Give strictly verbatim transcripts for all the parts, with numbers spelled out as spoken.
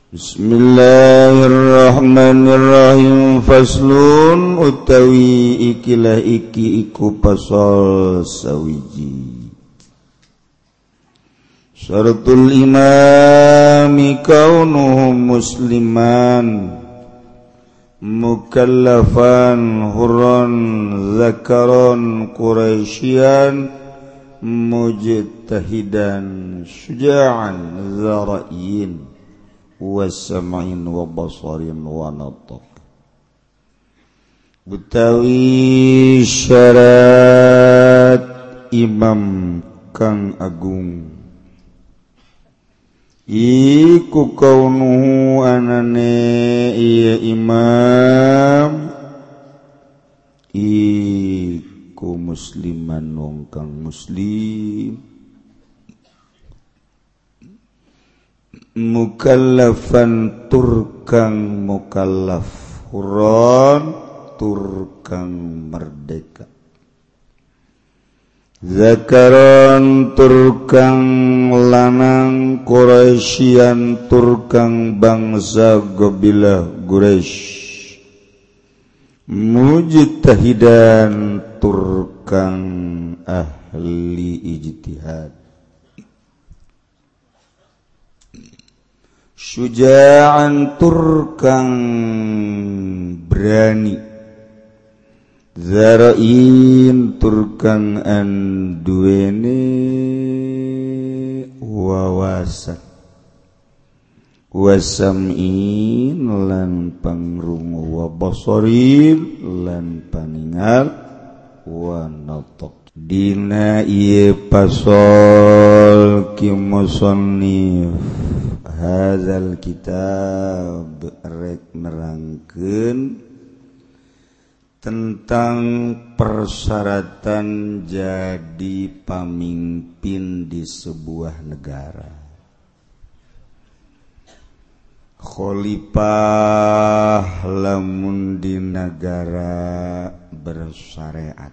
Bismillahirrahmanirrahim. Faslun utawi ikilah iki iku pasal sawiji. Syaratul imami kaunuhu musliman mukallafan hurran zakaron quraisyan mujtahidan syuja'an zarayin wasam'in wa basarin wa nataq. Utawi syarat imam kang agung iku kaunuhu anane iya imam iku musliman wong kang muslim mukallafan turkang mukallaf huron turkang merdeka zakaron turkang lanang Quraisyan turkang bangsa gobilah Quraisy mujtahidan turkang ahli ijtihad syuja'an turkang berani zara'in turkang anduene wawasan wasam'in lan pangrungu wa basarin lan paningal wa nataq. Dina ieu pasal ki musannif hadzal kitab rek nerangkeun tentang persyaratan jadi pamimpin di sebuah negara. Khalifah lamun di negara bersyariat,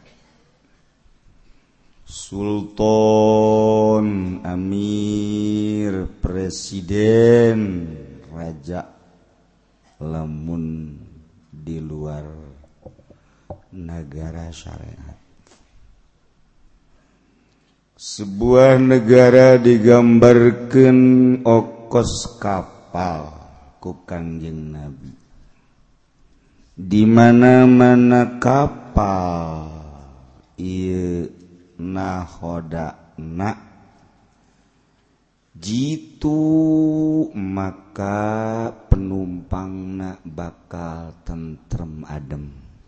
sultan, amir, presiden, raja lamun di luar negara syariat. Sebuah negara digambarkan okos kapal ku Kangjeng Nabi. Di mana-mana kapal ieu nahodana jitu maka penumpangna bakal tentrem adem.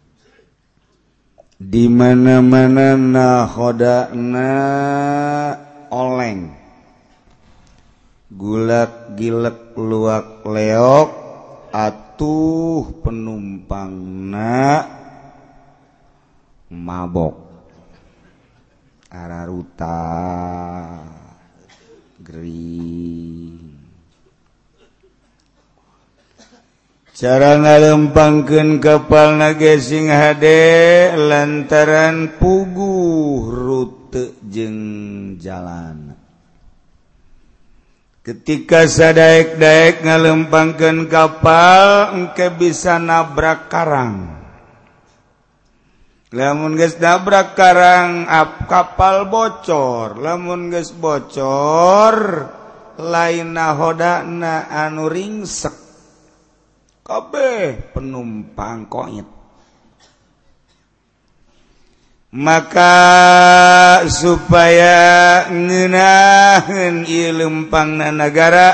Di mana-mana nahodana oleng gulak gilek luak leok atuh penumpangna mabok araruta gering. Cara ngalempangkeun kapal nage sing hade lantaran puguh rute jeung jalan. Ketika sadaek-daek ngalempangkeun kapal engke bisa nabrak karang. Lamun geus nabrak karang ap kapal bocor, lamun geus bocor lain nahodana anu ringsek. Kabeh penumpang koit. Maka supaya ngeunaheun ieu lempangna negara,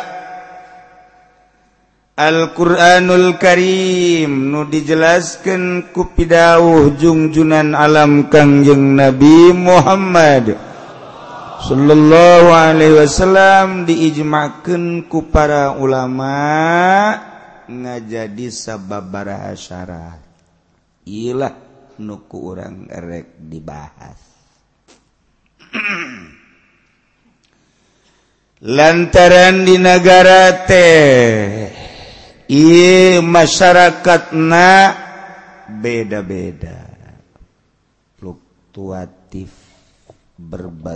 Al-Qur'anul Karim nu dijelaskeun ku pidawuh junjunan alam Kangjeng Nabi Muhammad sallallahu alaihi wasallam diijma'keun ku para ulama ngajadi sababaraha syarat. Ilah nu ku urang erek dibahas. Lantaran di negara teh ieu masyarakatna beda-beda, fluktuatif,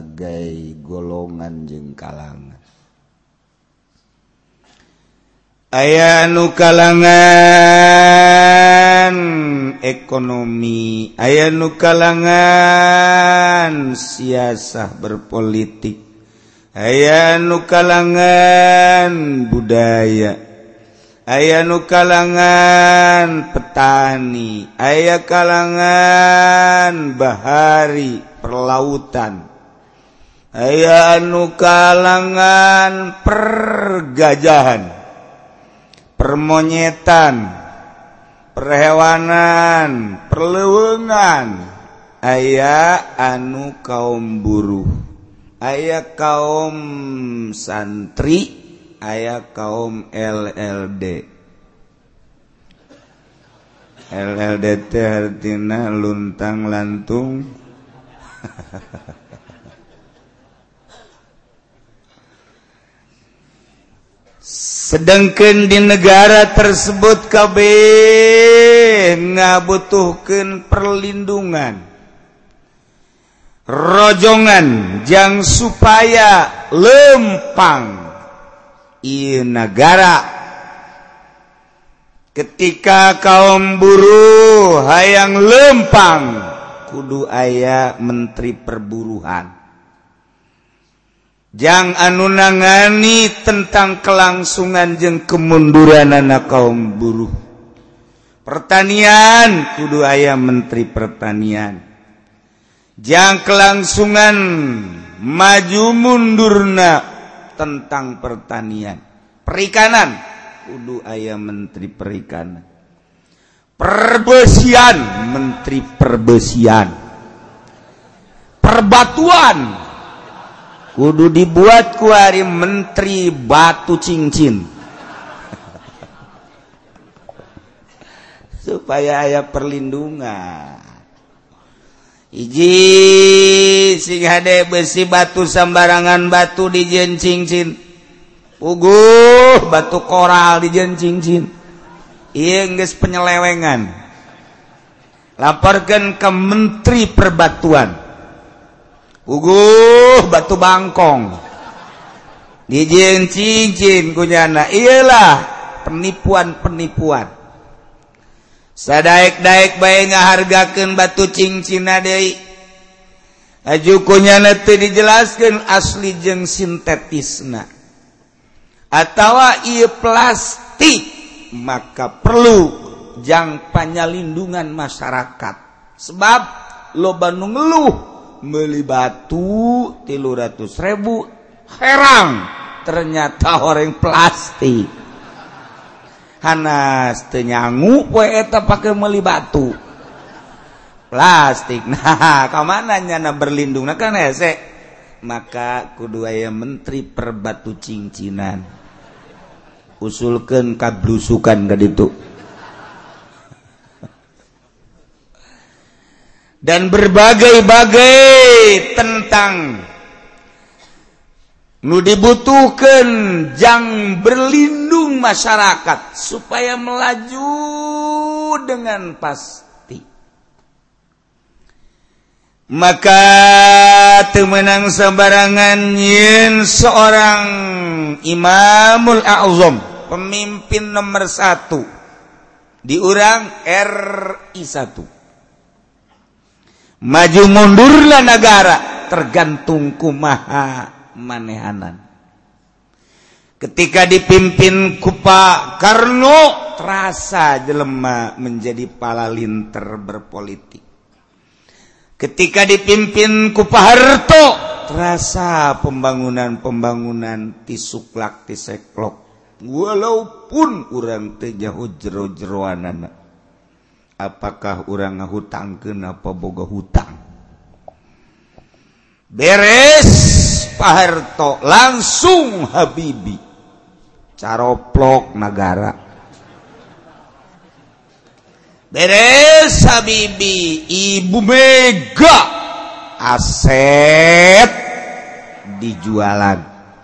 berbagai golongan jeung kalangan. aya nu kalangan ekonomi, aya nu kalangan siasah berpolitik, aya nu kalangan budaya, aya nu kalangan petani, aya kalangan bahari perlautan, aya anu kalangan pergajahan, permonyetan, perhewanan, perleuweungan, aya anu kaum buruh, aya kaum santri, aya kaum L L D. L L D teh artina luntang lantung. Sedangkan di negara tersebut kabeh ngabutuhkeun perlindungan, rojongan jang supaya lempang ieu negara. Ketika kaum buruh hayang lempang, kudu aya menteri perburuhan jang anu nangani tentang kelangsungan jeung kemunduran anak kaum buruh. Pertanian kudu aya menteri pertanian jang kelangsungan maju mundurna tentang pertanian. Perikanan kudu aya menteri perikanan. Perbesian menteri perbesian. Perbatuan kudu dibuat ku ari menteri batu cincin supaya aya perlindungan. Iji sing hade besi batu sambarangan batu dijieun cincin, puguh batu koral dijieun cincin, ieu geus penyelewengan. Laporkeun ke menteri perbatuan, uguh batu bangkong dijieun cincin kunyana. Iyalah penipuan-penipuan. Sadaek-daek bae ngahargakeun batu cincina deui. Aju kunyana teu dijelaskeun asli jeung sintetisna. Atawa ieu plastik, maka perlu jang panyalindungan masyarakat. Sebab loba nu ngeluh meuli batu tilu ratus ribu, herang ternyata horeng plastik. Hanas teu nyangu poe eta pake meuli batu plastik. Nah, ka mana nyana berlindungna kan hese? Maka kudu aya menteri perbatu cincinan. Usulkeun kablusukan ka ditu. Dan berbagai-bagai tentang nu dibutuhkeun jang berlindung masyarakat supaya melaju dengan pasti. Maka teu meunang sabarangan yen seorang Imamul A'zam, pemimpin nomor satu di urang R I satu, maju mundurlah negara tergantung kumaha manehanan. Ketika dipimpin ku Pak Karno, terasa jelema menjadi palalinter berpolitik. Ketika dipimpin ku Pak Harto, terasa pembangunan-pembangunan tisuklak tiseklok. Walaupun urang teu jauh jero-jeroanana. Apakah urang ngahutangkeun apa boga hutang? Beres Pak Harto langsung Habibie caroplok negara. Beres Habibie, Ibu Mega aset dijualan.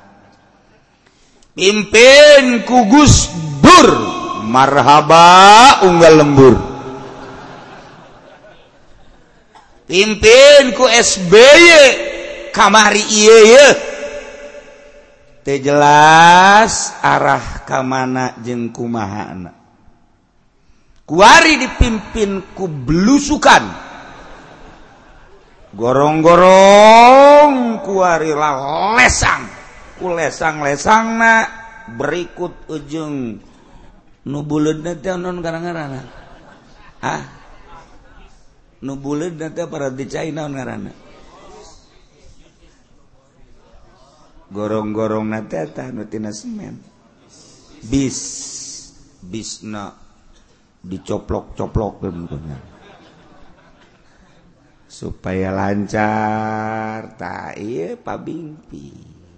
Pimpin ku Gus Dur, marhaba unggal lembur. Pimpin ku S B Y, kamari ieu teu jelas arah ka mana jeung kumahana. Kuari dipimpin ku belusukan, gorong-gorong kuari lah lesang, ku lesang-lesangna berikut ujung nu buleudna teh naon ngaranna? Ah, nu buleudna teh para dicai naon ngaranna? Gorong-gorong nate tah nu tina semen. Bis bisna dicoplok-coplokkeun punya. Supaya lancar tah ieu pabingpi.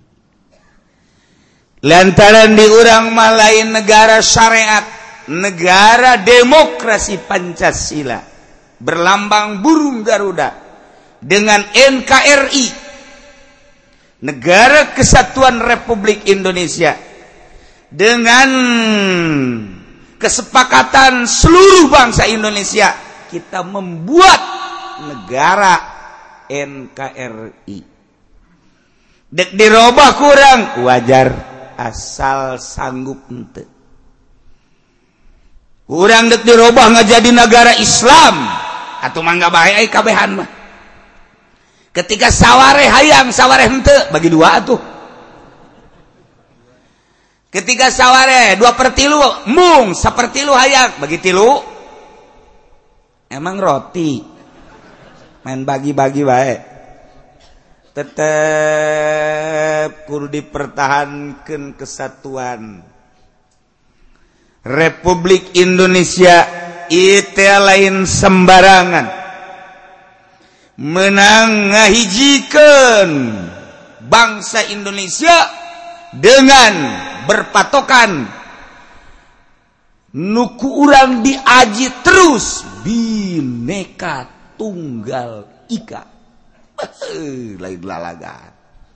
Lantaran di urang mah lain negara syariat, negara demokrasi Pancasila, berlambang burung Garuda dengan N K R I, Negara Kesatuan Republik Indonesia, dengan kesepakatan seluruh bangsa Indonesia, kita membuat negara N K R I. Dek dirobah kurang wajar, asal sanggup ente. Kurang dek dirobah nggak jadi negara Islam, atau mangga bae kabehan mah. Ketika saware hayang saware henteu bagi dua atuh. Ketika saware dua per tilu mung sapertilu hayang bagi tilu. Emang roti main bagi-bagi bae. Tetep kudu dipertahankeun kesatuan Republik Indonesia. Itu lain sembarangan menang ngahijikeun bangsa Indonesia dengan berpatokan nuku urang diaji terus Bhinneka Tunggal Ika. Lain lalagan.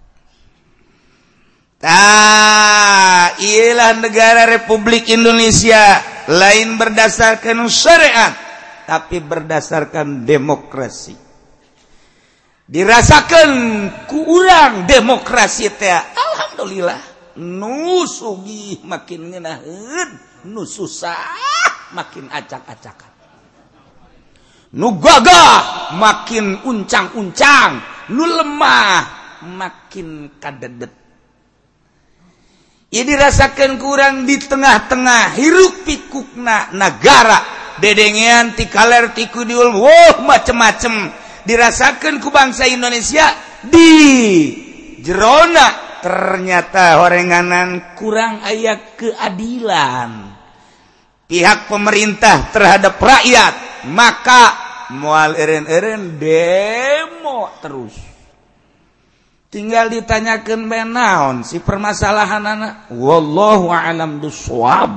Tah, ialah negara Republik Indonesia lain berdasarkan syariat tapi berdasarkan demokrasi. Dirasakan ku urang demokrasi teh alhamdulillah nu sugih makin ngeunaheun, nu susah makin acak-acakan, nu gagah makin uncang-uncang, nu lemah makin kadedet. Ieu dirasakeun ku urang di tengah-tengah hiruk pikukna negara dedengean ti kaler ti kudiul woh macem-macem dirasakan ku bangsa Indonesia di jerona ternyata horenganan kurang aya keadilan pihak pemerintah terhadap rakyat, maka moal eureun-eureun demo terus. Tinggal ditanyakeun bae naon si permasalahanana, wallahu a'lam bissawab.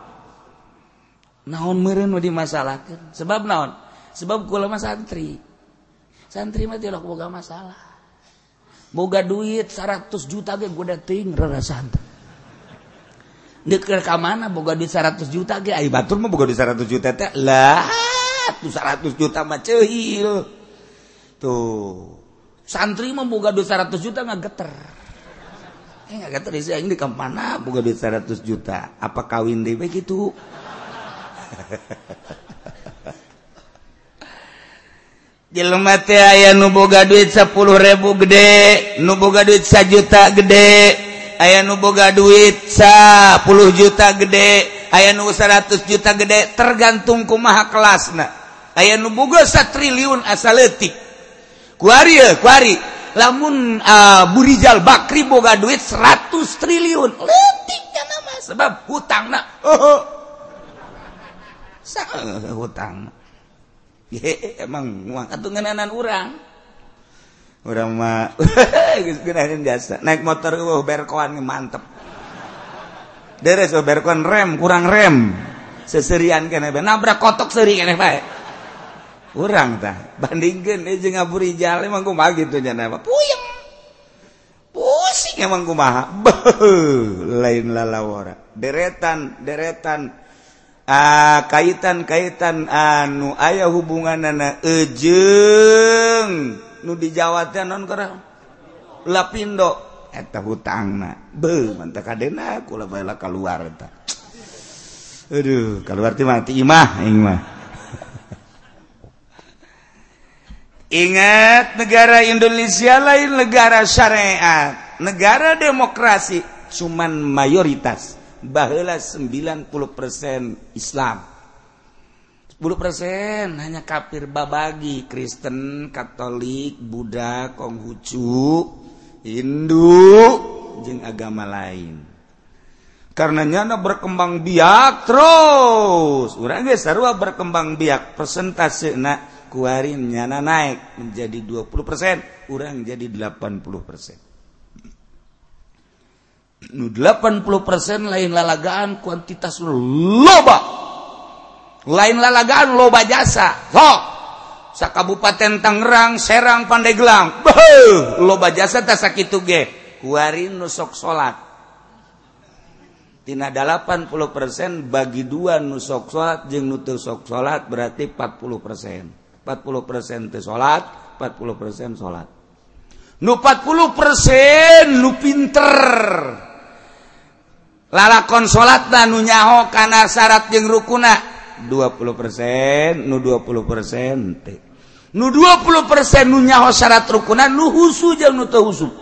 Naon meureun nu dimasalahkeun? Sebab naon? Sebab kula mah santri. Santri mah tidak boga masalah. Boga duit seratus juta ge goda teuing rarasan. Deuk ka mana boga duit seratus juta ge ai batur mah boga duit seratus juta teh lah tuh seratus juta mah ceuhil. Tuh. Santri mah boga duit seratus juta ngageter. Eh ngageter di aing di ka mana boga duit seratus juta? Apa kawin deui we kitu? Jelema teh aya nu boga duit sepuluh ribu gede, nu boga duit sajuta gede, aya nu boga duit sepuluh juta gede, aya nu seratus juta gede, tergantung kumaha kelasna. Aya nu boga satriliun asa leutik. Kuari ye, kuari. Lamun uh, Burijal Bakri boga duit seratus triliun, leutik kana mah sebab hutangna. Oh. Saha hutang? Ye, emang muang atuh ngeunaan urang. Urang mah geus geunaheun jasa. Naik motor eueuh berkoan mantep. Deres berkoan rem kurang rem. Seserian keneh bae nabrak kotok seuri keneh bae. Urang tah bandingkeun ieu jeung Abu Rijal emang kumaha kitu nya na. Puyeng. Pusing emang kumaha. Lain lalawara. Deretan deretan Ah, kaitan-kaitan anu aya hubunganana ejeung nu di Jawa teh naon karang Lapindo eta hutangna beuh mantap kadena kula bae keluar eta aduh keluar teh mati imah ing mah. Ingat, negara Indonesia lain negara syariat, negara demokrasi, cuman mayoritas, baheula sembilan puluh persen Islam, sepuluh persen hanya kafir babagi, Kristen, Katolik, Buddha, Konghucu, Hindu, jeung agama lain. Karenanya berkembang biak terus, urang ge sarua berkembang biak, persentasena kuarin nyana naik menjadi dua puluh persen, urang jadi delapan puluh persen. Nu delapan puluh persen lain lalagaan kuantitas loba. Lain lalagaan loba jasa. Sok. Sakabupaten Tangerang, Serang, Pandeglang. Beuh, loba jasa teh sakitu ge. Kuarin nu sok salat. Tina delapan puluh persen bagi dua nu sok salat jeung nu teu sok salat berarti empat puluh persen. empat puluh persen teu salat, empat puluh persen salat. Nu empat puluh persen nu pinter. Lalakon salatna nu nyaho kana syarat jeung rukunna dua puluh persen, nu dua puluh persen teh. Nu dua puluh persen nu nyaho syarat rukunna nu husu jeung nu teu husu.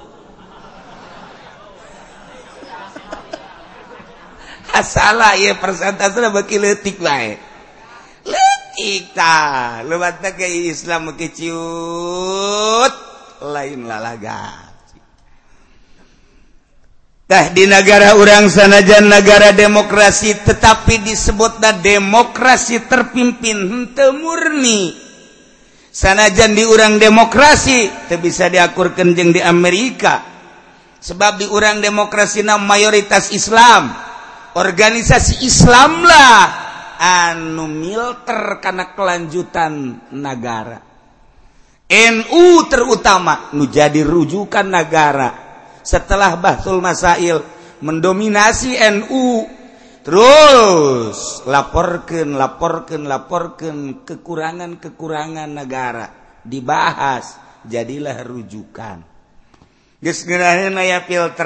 Asalah ieu persentasena beuki leutik wae. Ika lumatna ke Islam ke ciut lain lalaga. Tah di negara urang sanajan negara demokrasi tetapi disebutna demokrasi terpimpin henteu murni. Sanajan di urang demokrasi teu bisa diakurkeun jeung di Amerika. Sebab di urang demokrasina mayoritas Islam. Organisasi Islam lah anu milter karena kelanjutan negara. N U terutama nu jadi rujukan negara setelah Bahsul Masail mendominasi N U, terus laporkeun laporkeun laporkeun kekurangan-kekurangan negara dibahas jadilah rujukan. Geus geuraheun aya filter.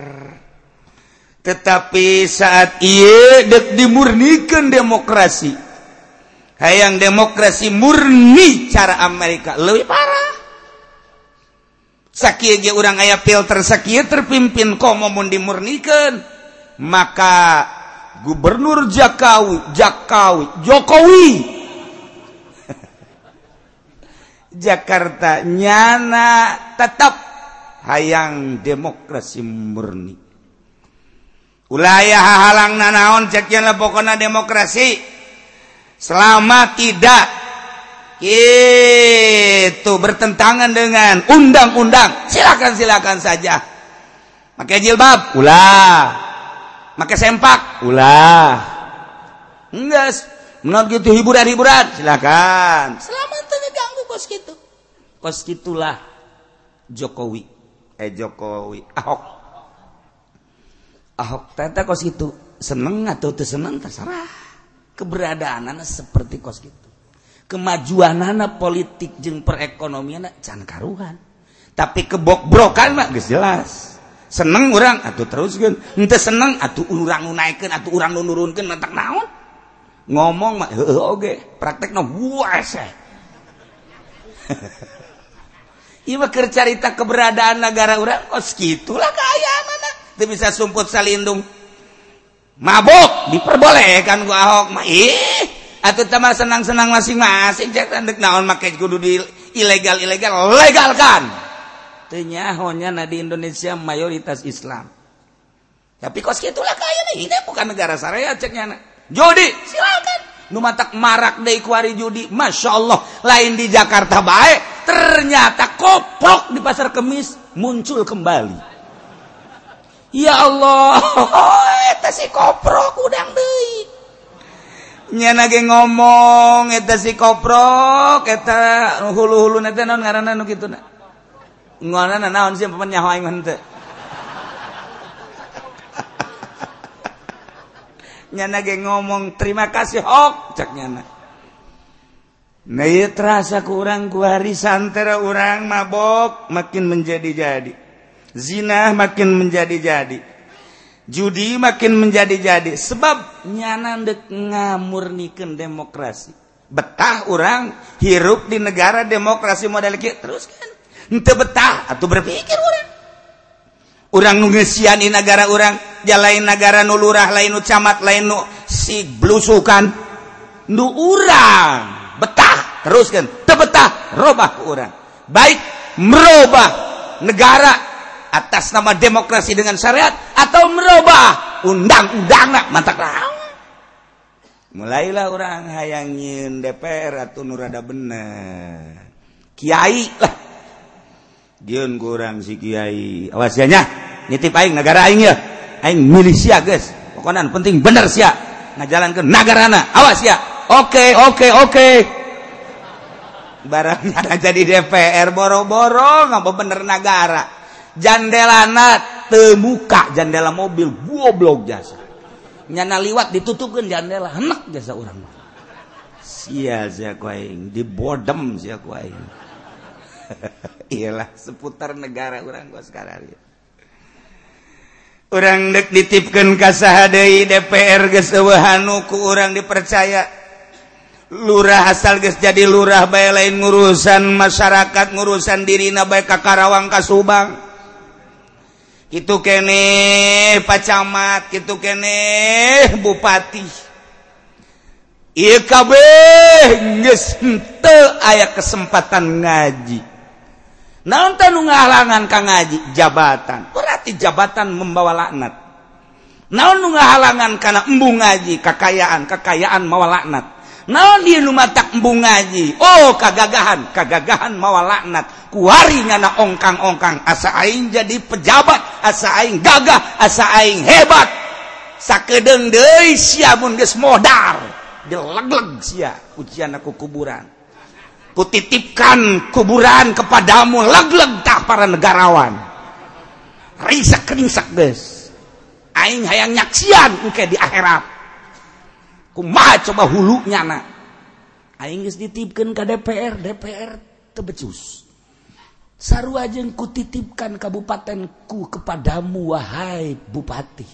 Tetapi saat ieu dek dimurnikeun demokrasi, hayang demokrasi murni cara Amerika leuwih parah. Sakieu ge urang aya filter sakieu terpimpin komo mun dimurnikeun, maka Gubernur Jakawi, Jakawi, Jokowi Jakarta nyana tetap hayang demokrasi murni. Ulah aya hahalangna naon cek yen pokona demokrasi selama tidak itu bertentangan dengan undang-undang silakan silakan saja. Pakai jilbab ulah, pakai sempak ulah, enggak menurut gitu hiburan-hiburan silakan selama teu ngeganggu kos kitu kos kitulah Jokowi eh Jokowi Ahok Ahok tata kos itu seneng atau teu seneng terserah. Keberadaanana seperti kos itu. Kemajuanana politik jeung perekonomianna can karuhan. Tapi kebok-brokan mah geus jelas. Seneng urang atuh teruskeun, henteu seneng atuh urang nu naekeun atuh urang nu nurunkeun mantak naon. Ngomong mah heueuh oge, praktekna buase. Ieu mah keur carita keberadaan negara urang kos kitulah kaayaanana. Itu bisa sumput salindung mabok diperbolehkan ku Ahok mah ih atuh teh mah senang-senang masing-masing cek tandek naon make kudu di ilegal-ilegal legalkan teu nyahonya na di Indonesia mayoritas Islam tapi kos kitulah kaya nih ini bukan negara syariat ceknya na. Judi silakan nu matak marak deui ku ari judi masyaallah lain di Jakarta bae ternyata koprok di pasar Kemis muncul kembali. Ya Allah, eta si koprok udang deui. Nyana ge ngomong eta si koprok, eta hulu-huluna teh naon ngaranna nu kituna. Ngaranna naon sih paman nyaho aing mah teu. Nyana ge ngomong terima kasih hok cek nyana. Nah ieu terasa ku urang ku hari santara urang mabok makin menjadi-jadi. zina makin menjadi-jadi, judi makin menjadi-jadi, sebab nyana dek ngamurnikeun demokrasi. Betah orang hirup di negara demokrasi model kieu terus kan henteu betah atuh berpikir urang. Urang nu ngeusian di negara urang, ja lain negara nu lurah, lain nu camat, lain nu si blusukan. Nu urang betah teruskeun, teu betah robah ku urang. Baik merubah negara atas nama demokrasi dengan syariat atau merubah undang-undangna mantak naon. Mulailah orang hayangin D P R atau nu rada bener. Kiai lah. Dieun ku urang si kiai. Awas ya nya, nitip aing negara aing ya. Aing milih sia geus. Pokona penting bener sia ngajalankeun nagarana. Awas ya. Oke, oke, oke. Barangnya jadi D P R boro-boro ngapa bener negara. Jandelana teu muka, jandela mobil goblok jasa. Nyana liwat ditutupkeun jandela, henek jasa urang. Sia sia ku aing, di bodem sia ku aing. Iyalah seputar negara urang gua sekarang. Urang dek ditipkeun ka saha deui D P R geus eueuhan ku urang dipercaya. Lurah asal geus jadi lurah bae lain ngurusan masyarakat, ngurusan dirina bae ka Karawang ka Subang. Kitu keneh pacamat, kitu keneh bupati. Ieu kabeh geus henteu aya kesempatan ngaji. Naon teh nu ngahalangan ka ngaji? Jabatan. Berarti jabatan membawa laknat. Naon nu ngahalangan kana embung ngaji? Kekayaan, kekayaan mawa laknat. Naon ieu nu matak embung ngaji? Oh, kagagahan, kagagahan mawa laknat. Kuari ngana ongkang-ongkang, asa aing jadi pejabat, asa aing gagah, asa aing hebat. Sakedeung deui sia mun geus modar, dilegleg sia ujian aku kuburan. Kutitipkan kuburan kepadamu, legleg tah para negarawan. Risak ringsak geus. Aing hayang nyaksian engke di akhirat. Kumaha coba hulunya na. Aing geus dititipkeun ka D P R, D P R teu becus. Sarua jeung kutitipkan kabupatenku kepadamu wahai bupati.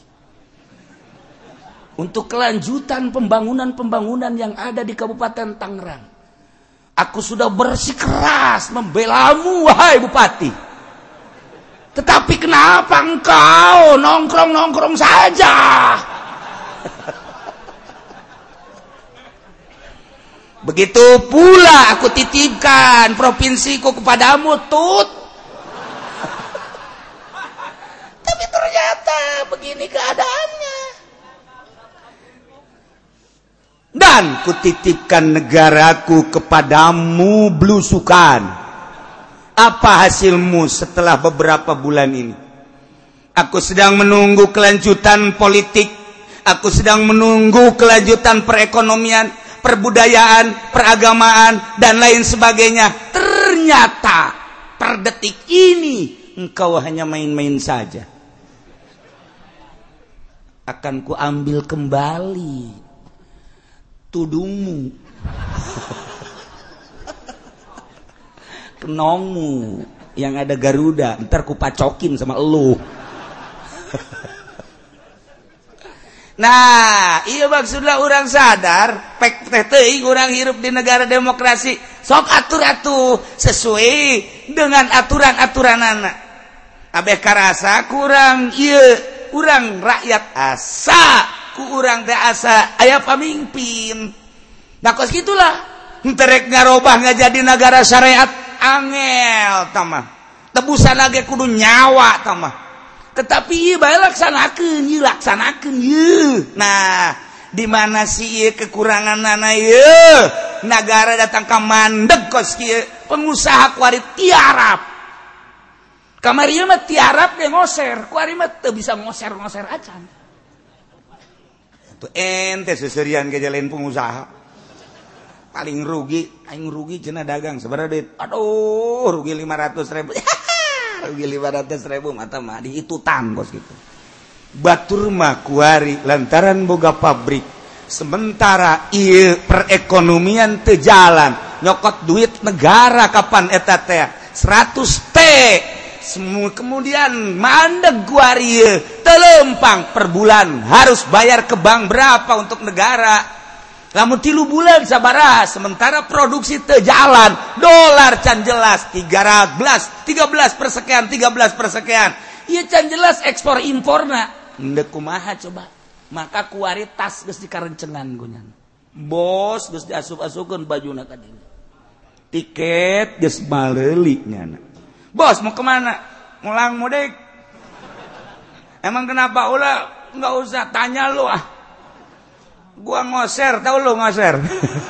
Untuk kelanjutan pembangunan-pembangunan yang ada di Kabupaten Tangerang. Aku sudah bersikeras membelamu wahai bupati. Tetapi kenapa engkau nongkrong-nongkrong saja? Begitu pula aku titipkan provinsiku kepadamu, Tut. Tapi ternyata begini keadaannya. Dan kutitipkan negaraku kepadamu, blusukan. Apa hasilmu setelah beberapa bulan ini? Aku sedang menunggu kelanjutan politik. Aku sedang menunggu kelanjutan perekonomian, perbudayaan, peragamaan, dan lain sebagainya. Ternyata per detik ini engkau hanya main-main saja. Akan kuambil kembali tudungmu, kenongmu yang ada Garuda, ntar kupacokin sama elu. Nah, iya maksudlah orang sadar, pek teh teuing orang hirup di negara demokrasi, sok atur atuh sesuai dengan aturan-aturanana. Abeh karasa kurang ieu, urang rakyat asa. Ku urang teh asa aya pamimpin. Da kos gitulah. Enterek ngarobah ngajadi negara syariat angel tamah. Tebusan lagi kudu nyawa tamah. Tetapi ieu bae laksanakeun, ieu laksanakeun ieu. Nah, di mana sih ieu kekuranganna ieu? Negara datang ka mandeg kos kieu, pengusaha kuari tiarap. Kamari mah tiarap ge ngoser, kuari mah teu bisa ngoser-ngoser acan. Tuh ente seserian ke jalan pengusaha paling rugi, aing rugi cenah dagang seberapa duit? Aduh, rugi lima ratus ribu. Rugi lima ratus ribu mata mah dihitutan bos gitu. Batur mah kuari lantaran boga pabrik. Sementara ieu perekonomian teu jalan, nyokot duit negara kapan eta teh? seratus T semua kemudian mandeg guarie telempang per bulan harus bayar ke bank berapa untuk negara. Lamun tilu bulan sabaraha sementara produksi teu jalan, dolar can jelas tiga belas tiga belas persekian tiga belas persekian. Ieu can jelas ekspor imporna. Ndek kumaha coba. Maka kualitas geus dikarencengan gunyan. Bos geus diasup-asupkeun bajuna ka dieu. Tiket geus maleuli nyana. Bos mau kemana? Mulang mudik. Emang kenapa ulah enggak usah tanya lu ah. Gua ngoser, tahu lu ngoser.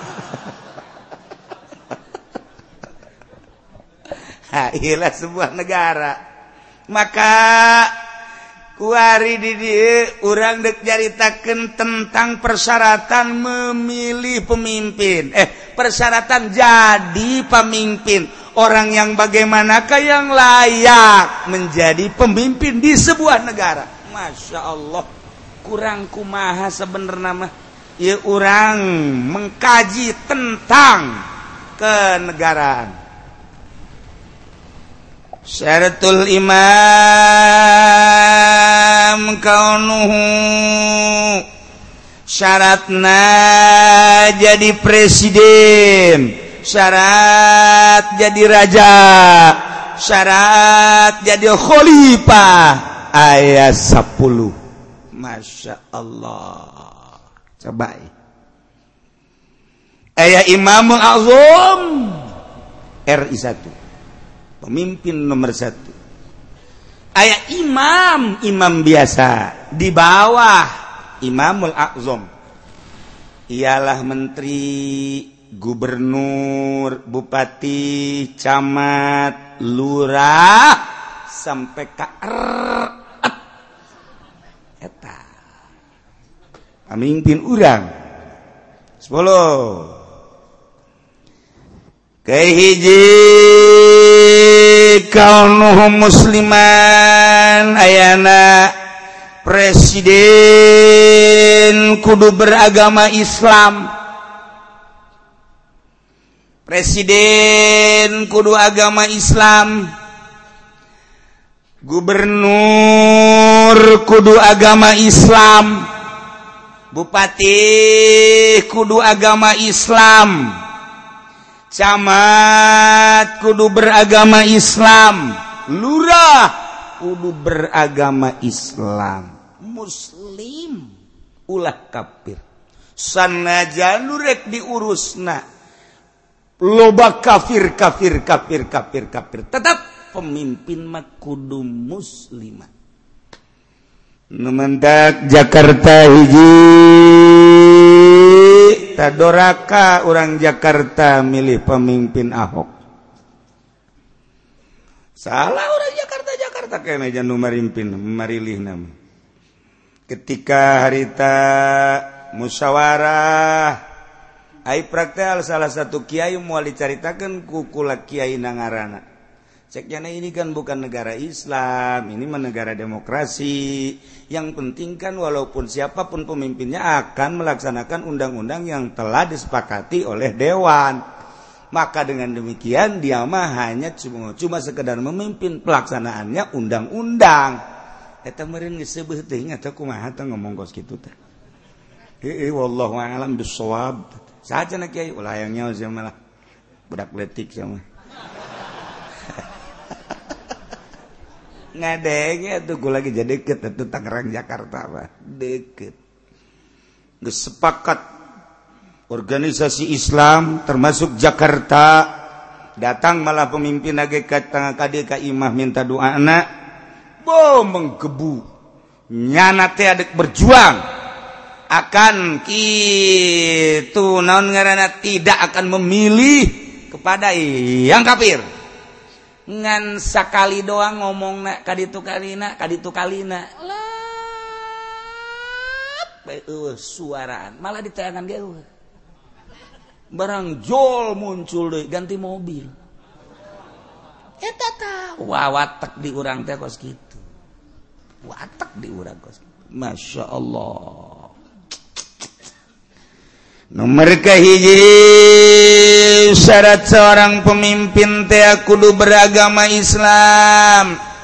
Ha, iyalah sebuah negara. Maka kuari di dieu urang dek jaritakeun tentang persyaratan memilih pemimpin. Eh, persyaratan jadi pemimpin. Orang yang bagaimanakah yang layak menjadi pemimpin di sebuah negara. Masya Allah. Kurang kumaha sebenarnya mah. Ya orang mengkaji tentang kenegaraan. Syaratul imam kaunuhu, syaratna jadi presiden, syarat jadi raja, syarat jadi khalifah. Ayat sepuluh. Masya Allah. Coba aya Imamul Azam R I satu pemimpin nomor satu. Aya imam imam biasa di bawah Imamul Azam ialah menteri, gubernur, bupati, camat, lurah sampai ka R eta pemimpin urang. Sepuluh kehiji kaunuhum musliman ayana presiden kudu beragama Islam. Presiden kudu agama Islam. Gubernur kudu agama Islam. Bupati kudu agama Islam, camat kudu beragama Islam, lurah kudu beragama Islam, muslim ulah kafir. Sanajan rek diurusna loba kafir kafir kafir kafir kafir, tetap pemimpin mah kudu muslimah. Numendak Jakarta hiji tadoraka orang Jakarta milih pemimpin Ahok. Salah orang Jakarta Jakarta kena jangan marimpin marilih nama. Ketika harita musyawarah ai praktek salah satu kiai moal dicaritakeun ku kula kiai nangarana. Ceknya ini kan bukan negara Islam, ini mah negara demokrasi. Yang penting kan walaupun siapapun pemimpinnya akan melaksanakan undang-undang yang telah disepakati oleh Dewan. Maka dengan demikian dia mah hanya cuma, cuma sekedar memimpin pelaksanaannya undang-undang. Eta meureun geus seubeuh teuing atuh kumaha teh ngomong kos kitu teh. Heuh wallahu a'lam bissawab. Saja na kiai ulah hayang nyaho sia malah budak letik sia mah. Ngadenge atuh ku lagi jadi deket atuh Tangerang Jakarta mah deket. Geus sepakat organisasi Islam termasuk Jakarta datang malah pemimpin lagi ka kadieu ka imah minta doana bo menggebu nyana teh adek berjuang akan kitu naon ngaranna tidak akan memilih kepada yang kafir. Ngan sakali doang ngomong nak kaditu kalina kaditu kalina lap eueuh suaraan malah ditayangan ge eueuh barang jol muncul deui ganti mobil eta tah wawatek di urang teh kos kitu watek di urang kos kitu Masya Allah. Nomor kahiji syarat seorang pemimpin teh kudu beragama Islam.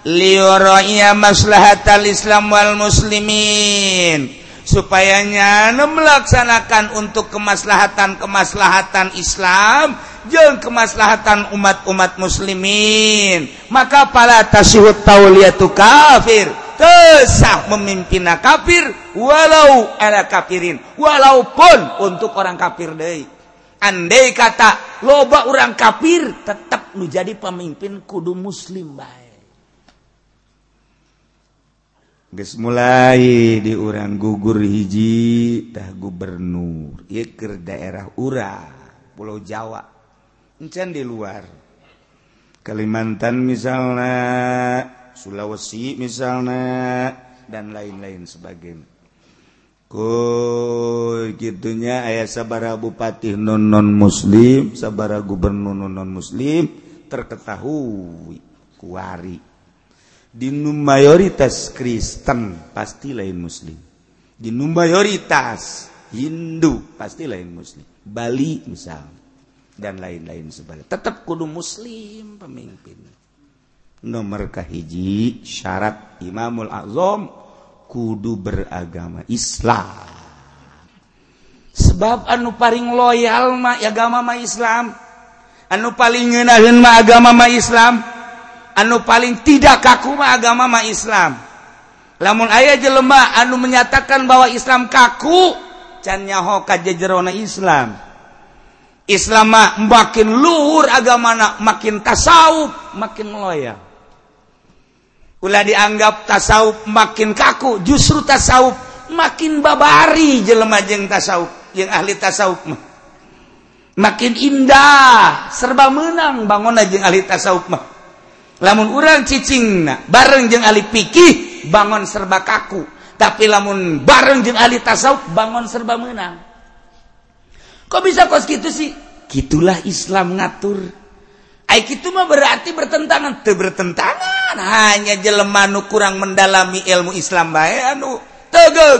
liyuraiya maslahatal Islam wal muslimin, supayanya melaksanakan untuk kemaslahatan-kemaslahatan Islam jeung kemaslahatan umat-umat muslimin. Maka pala tasyhud tauliyatu kafir, tesah memimpinna kafir walau ala kafirin, walaupun untuk orang kafir deui. Andai kata loba orang kafir tetap nu jadi pemimpin kudu muslim bae. Geus mulai di urang gugur hiji tah gubernur ieu keur daerah urang Pulau Jawa, encan di luar Kalimantan misalnya, Sulawesi misalnya, dan lain-lain sebagainya. Koi gitunya aya sabaraha bupati non non muslim, sabaraha gubernur non muslim terketahui kuari. Di nu mayoritas Kristen pasti lain muslim. Di nu mayoritas Hindu pasti lain muslim. Bali misalnya dan lain-lain sebagainya. Tetap kudu muslim pemimpin. Nomor kahiji syarat Imamul Azam kudu beragama Islam. Sebab anu paling loyal mah agama mah Islam. Anu paling ngeunaheun mah agama mah Islam. Anu paling tidak kaku mah agama mah Islam. Lamun aya jelema anu menyatakan bahwa Islam kaku, can nyaho ka jejerona Islam. Islam mah makin luhur agamana, makin tasawuf, makin loyal. Ulah dianggap tasawuf makin kaku, justru tasawuf makin babari jelema jeung tasawuf, jeung ahli tasawuf mah. Makin indah, serba meunang bangunna jeung ahli tasawuf mah. Lamun urang cicingna bareng jeung ahli fikih bangun serba kaku, tapi lamun bareng jeung ahli tasawuf bangun serba meunang. Kok bisa kos gitu sih? Gitulah Islam ngatur. Ai kitu mah berarti bertentangan, teu bertentangan, hanya jelema nu kurang mendalami ilmu Islam bae anu tegeug.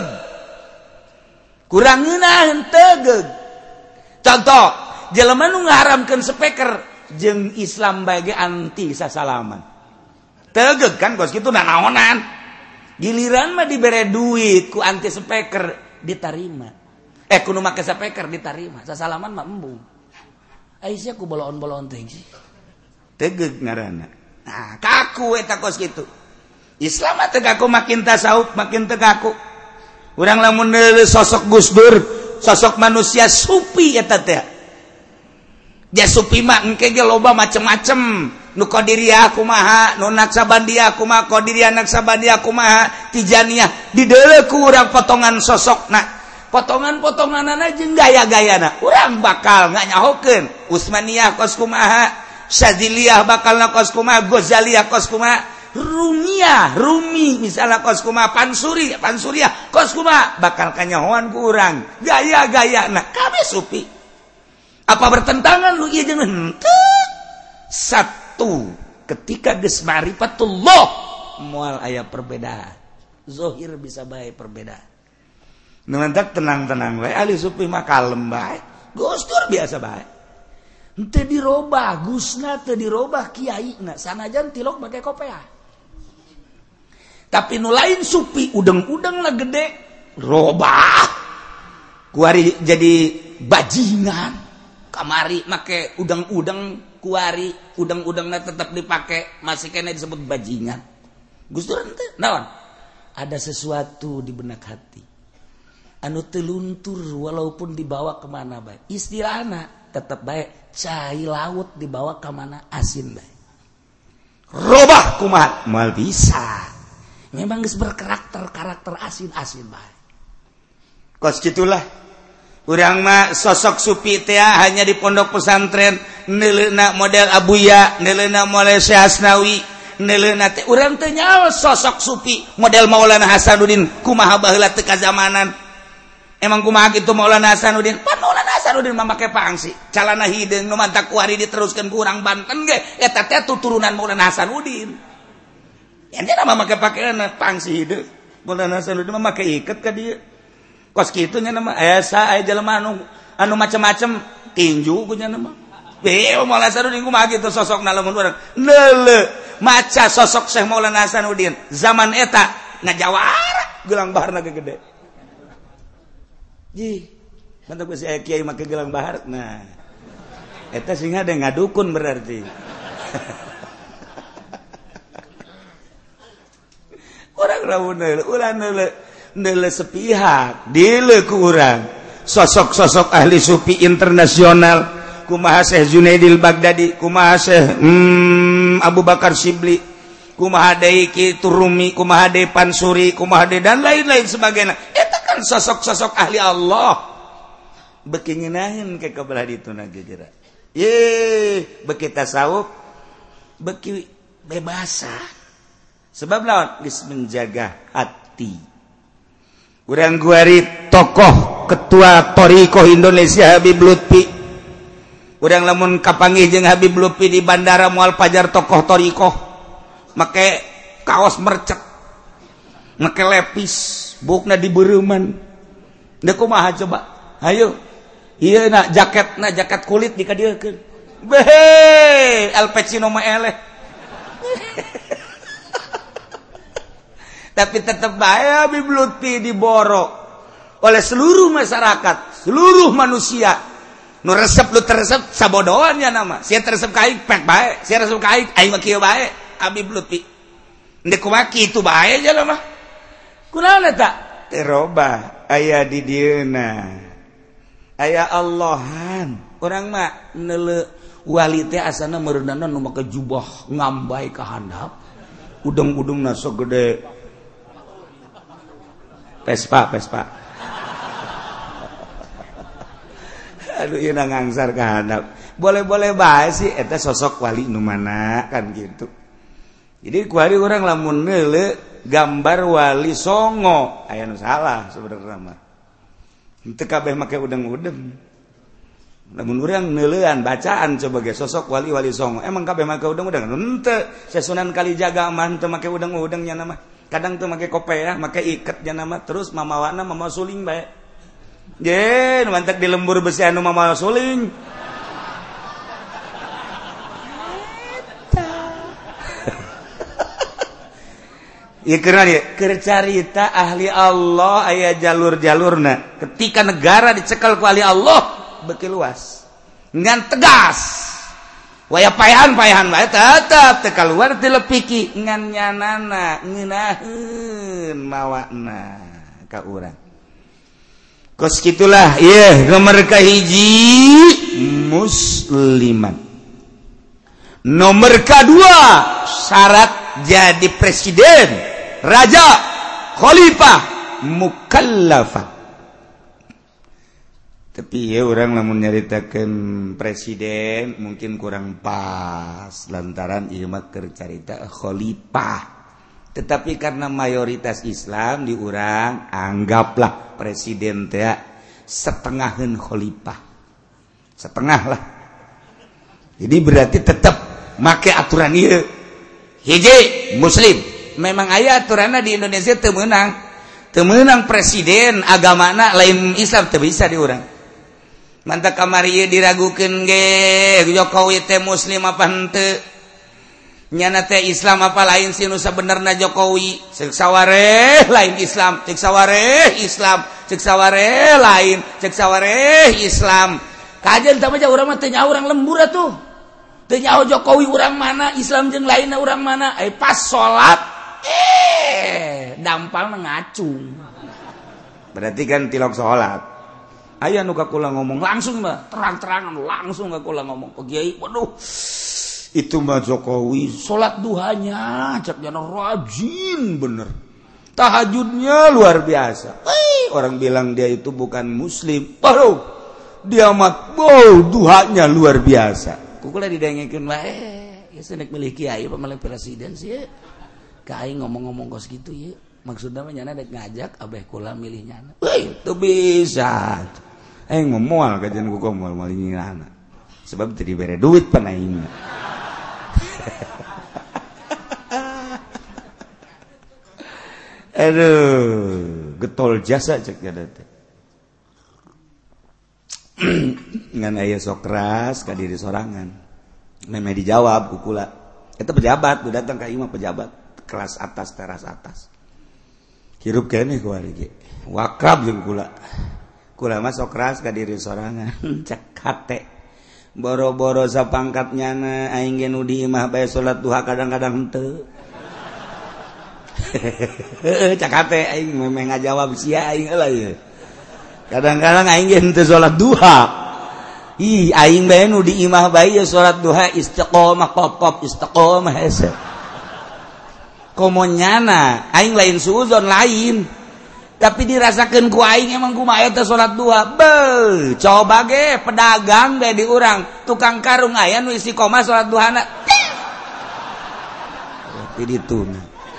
Kurang ngeunaheun tegeug. Contoh, jelema nu ngaharamkeun speaker jeung Islam bae anti sasalaman. Tegeug kan kos kitu nanaonan. Giliran mah dibere duit ku anti speaker ditarima. Eh kudu make speaker ditarima, sasalaman mah embung. Aisyah ku boloon-boloon teh sih. Tegeug ngaranna. Nah, kaku eta kos kitu. Islam mah teu kaku, makin tasawuf makin teu kaku. Urang lamun neuleuh sosok Gus Dur, sosok manusia supi eta teh. Ja supi mah engke ge loba macem-macem. Nu Qadiriyah kumaha, nu Naksabandiyah kumaha, Qadiriyah Naksabandiyah kumaha, Tijaniyah. Dideuleuh ku urang potongan sosokna. Potongan-potonganana jeung gaya-gayana urang bakal nganyahokeun. Utsmaniyah kos kumaha, Syadziliyah bakalna kos kumaha, Ghazaliyah kos kumaha, Rumiyah, Rumi misalna kos kumaha, Pansuri, Pansuriyah kos kumaha, bakal kanyahoan ku urang. Gaya-gayana kabeh sufi. Apa bertentangan lu ieu jeung henteu? Satu, ketika geus ma'rifatullah moal aya perbedaan. Zahir bisa bae perbedaan. Numantak tenang-tenang bae, ahli sufi mah kalem bae. Gus Dur biasa bae. Henteu dirobah, Gusna teu dirobah kiaina, sanajan tilok make kopiah. Tapi nu lain sufi udeng-udengna gede, robah. Kuari jadi bajingan. Kamari make udeng-udeng kuari, udeng-udengna tetap dipake, masih kena disebut bajingan. Gus Dur henteu naon? Ada sesuatu di benak hati. Anu teluntur walaupun dibawa kemana baik, istilahna tetap baik, cai laut dibawa kemana asin baik. Robah kumaha mal bisa, memang geus berkarakter karakter asin asin baik. Kos gitulah, urang mah sosok sufi teh hanya di pondok pesantren, neuleuhna model Abuya, neuleuhna model Syekh Asnawi, neuleuhna teh urang teh nyaho sosok sufi model Maulana Hasanuddin, kumaha baheula teu kazamanan. Emang kumaha kitu Maulana Hasanuddin? Pan Maulana Hasanuddin mah make pangsi. Calana hideung nu mantak kuari diteruskeun ku urang Banten ge, eta teh turunan Maulana Hasanuddin. Nya mah make pakeana pangsi hideung. Maulana Hasanuddin mah make iket ka dieu. Kos kitu nya mah asa aya jelema anu anu macem-macem tinju ku nya mah. Beuh Maulana Hasanuddin kumaha kitu sosokna lamun urang. Leuleuh maca sosok Syekh Maulana Hasanuddin zaman eta ngajawara gelang baharna gede. Ji, mantap geus aya kiai make gelang bahar. Nah, eta sing hade ngadukun berarti. Urang lamun urang neule sepihak, dieu ku urang. Sosok-sosok ahli sufi internasional, kumaha Syekh Junaidil Baghdadi, kumaha Syekh hmm, Abu Bakar Shibli, kumaha deui Kitu Rumi, kumaha deui Pansuri, kumaha deui dan lain-lain sebagainya. Eta kan sosok-sosok ahli Allah. Beki ngeunaheun ke kabelah dituna gegeura. Ye, beki tasawuf, beki bebasa. Sebab lawan geus menjaga hati. Urang guari tokoh ketua Thariqah Indonesia Habib Lutfi. Urang lamun kapanggih jeung Habib Lutfi di bandara moal pajar tokoh Thariqah. Make kaos mercek. Make lepis, bukna dibeureumman. Da kumaha coba? Hayu. Ieu na jaketna jaket kulit dikadiekeun. Behe, Al Pacino mah eleh. Tapi tetap bae Habib Lutfi diborok oleh seluruh masyarakat, seluruh manusia. Nu resep lu teresep sabodohan ya nama. Sia teresep ka aing pek bae, sia resep ka aing aing mah kieu bae Habib Lutfi. Endek kumaha kitu bae aja mah. Kunaon eta? Terobah aya di dieuna. Aya Allahan. Urang mah neule wali teh asana meureunana nu make jubah ngambai ka handap. Udeng-udengna sagede Vespa, Vespa. Aduh, ieu na ngangsar ka handap. Boleh-boleh bae sih eta sosok wali nu mana kan gitu. Jadi kuari urang lamun neule gambar wali songo, aya nu salah sebenarnya mah. Henteu kabeh make udeng-udeng. Lamun urang neuleuan bacaan coba ge sosok wali-wali songo. Emang kabeh make udeng-udeng? Henteu. Sunan Kalijaga mah teu make udeng-udeng nya nama. Kadang tuh make kopiah, make iket nya nama terus mamawana mama suling bae. Ye, nu mantek di lembur besi anu mama suling. Ieu keur ieu, keur carita ahli Allah aya jalur-jalurna. Ketika negara dicekel ku ahli Allah, beuki luas. Ngan tegas. Waya payahan-payahan bae tetep teu kaluar ti lepiki ngan nyanana ngeunaheun mawakna ka urang. Kos kitulah ieu nomor kahiji musliman. Nomor kedua syarat jadi presiden, raja, khalifah, mukallafah. Tapi ya orang lamun nyaritakeun presiden mungkin kurang pas lantaran ieu mah keur carita khalifah. Tetapi karena mayoritas Islam di urang anggaplah presiden teh setengaheun khalifah. Setengah lah. Jadi berarti tetap make aturan ieu. Hiji muslim. Memang aya aturanna di Indonesia teu meunang. Teu meunang presiden agamana lain Islam teu bisa di urang. Mantap kamari diragukeun ge Jokowi teh muslim apa henteu nyana teh Islam apa lain sih nu sabenerna Jokowi ceuk sawareh lain Islam ceuk sawareh Islam ceuk sawareh lain ceuk sawareh Islam kajen teh mah urang mah teu nyaho urang lembur atuh teu nyaho Jokowi urang mana Islam jeung lainna urang mana ai pas salat eh dampal ngacung berarti kan tilok salat. Aya nu kakula ngomong langsung mah terang-terangan langsung kakula ngomong ke Kiai waduh itu mah Jokowi salat duhanya cak jana rajin bener tahajudnya luar biasa. Hei, orang bilang dia itu bukan muslim waduh dia mah wow duhanya luar biasa kukula didengekeun wae ya senek milih kiai apa milih presiden sih ka aing ngomong-ngomong kos gitu ya maksudna mah nyana dek ngajak abeh kula milihnya weh teu bisa aing mah moal kajian ku moal malingina sebab teu dibere duit pan aing aduh getol jasa cek kada teh ngan aya sok keras ka diri sorangan meme dijawab ku kula Itu pejabat, udah datang ke imam pejabat kelas atas, teras atas. Hirup kene ku ari ge. Wakrab jeung kula. Kula mah sok keras ka diri sorangan. Cek hate. Boro-boro sapangkat nyana aing ge nu di imah bae salat duha kadang-kadang henteu. Heeh, cek hate aing memeh ngajawab sia aing heula ieu. Kadang-kadang aing ge henteu salat duha. Ih, aing bae nu di imah bae ya salat duha istiqomah pop-pop istiqomah hese. Komo nyana, aing lain suuzon lain. Tapi dirasakeun ku aing emang kumaha eta salat duha. Beuh, coba ge pedagang bae di urang, tukang karung aya nu istiqomah salat duhana. Tapi dituna.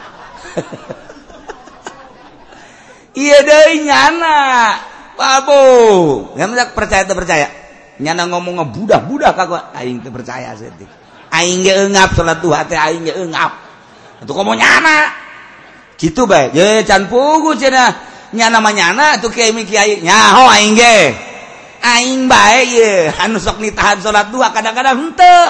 Iya deui nyana. Babu, ngan percaya teu percaya. Nyana ngomong ngebudah-budah kagak aing teh percaya setik. Aing ge eungap salat duha teh aing ge eungap. Atuh komo nyana. Kitu bae. Ye can pugu cenah. Nyana mah nyana atuh kiai mi kiai. Nyaho aing ge. Aing bae ye anu sok nitahan salat duha kadang-kadang henteu.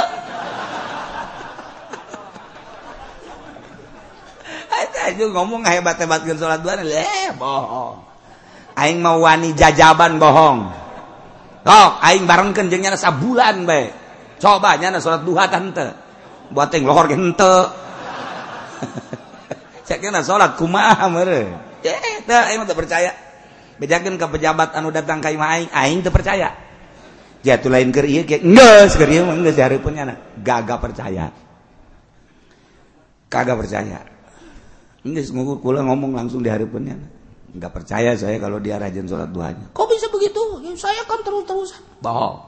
Eta aja ngomong hebat-hebatkeun salat duha leh bohong. Aing mau wani jajaban bohong. Tok, aing barengkeun jeung nyana sabulan bae. Coba nyana salat duha teh henteu. Buat teh lohor ge henteu. Cek nyana salat kumaha meureun. Eh, teu aing teu percaya. Bejakeun ka pejabat anu datang ka imah aing, aing teu percaya. Jatuh lain keur ieu ge geus keur ieu mah geus dihareupeun nyana. Gaga percaya. Kagak percaya. Geus ngukur kula ngomong langsung dihareupeun nyana. Enggak percaya saya kalau dia rajin sholat duhanya. Kok bisa begitu? Ya, saya kan terus-terusan. Bohong.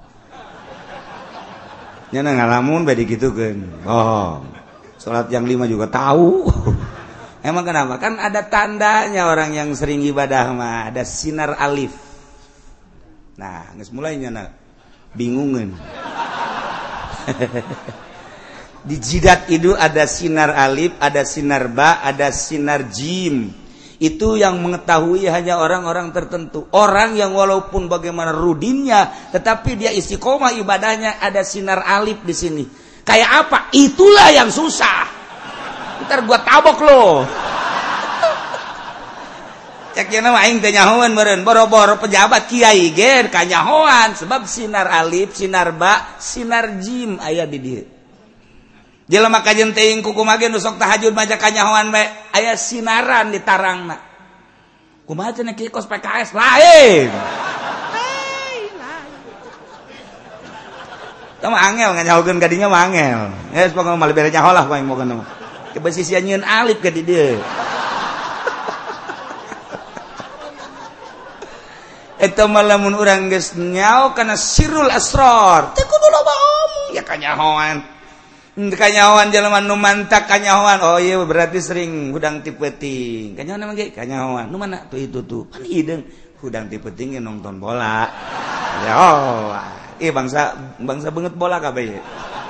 Nyana ngalamun badi gitu kan. Bohong. Sholat yang lima juga tahu. Emang kenapa? Kan ada tandanya orang yang sering ibadah mah. Ada sinar alif. Nah, geus mulai nyana bingungan. Di jidat itu ada sinar alif, ada sinar ba, ada sinar jim. Itu yang mengetahui hanya orang-orang tertentu. Orang yang walaupun bagaimana rudinnya, tetapi dia istiqomah ibadahnya, ada sinar alif di sini. Kayak apa? Itulah yang susah. Ntar gua tabok lo. Cek yana mah aing teh nyahoan meureun, boro-boro pejabat kiai ge kanyahoan sebab sinar alif, sinar ba, sinar jim aya di dieu. Jelema kajen teuing kumaha ge nu sok tahajud maca kanyahoan bae aya sinaran di tarangna. Kumaha cenah kieu kos P K S lain. Lain. Tah mah angel nganyahokeun ka dinya mah angel. Geus pokona mah lebere nyaho lah paling moga mah. Coba sisia nyieun alif ka di dieu. Eta mah lamun urang geus nyaho kana sirrul asrar. Teu kudu loba omong ya kanyahoan. Kanyahoan jelema nu mantak kanyahoan. Oh iya berarti sering hudang ti peuting. Kanyahoan emang ge kanyahoan. Nu mana tuh itu tuh. Pan hideung hudang ti peuting nonton bola. Ya oh. Ih bangsa bangsa beungeut bola kabeh.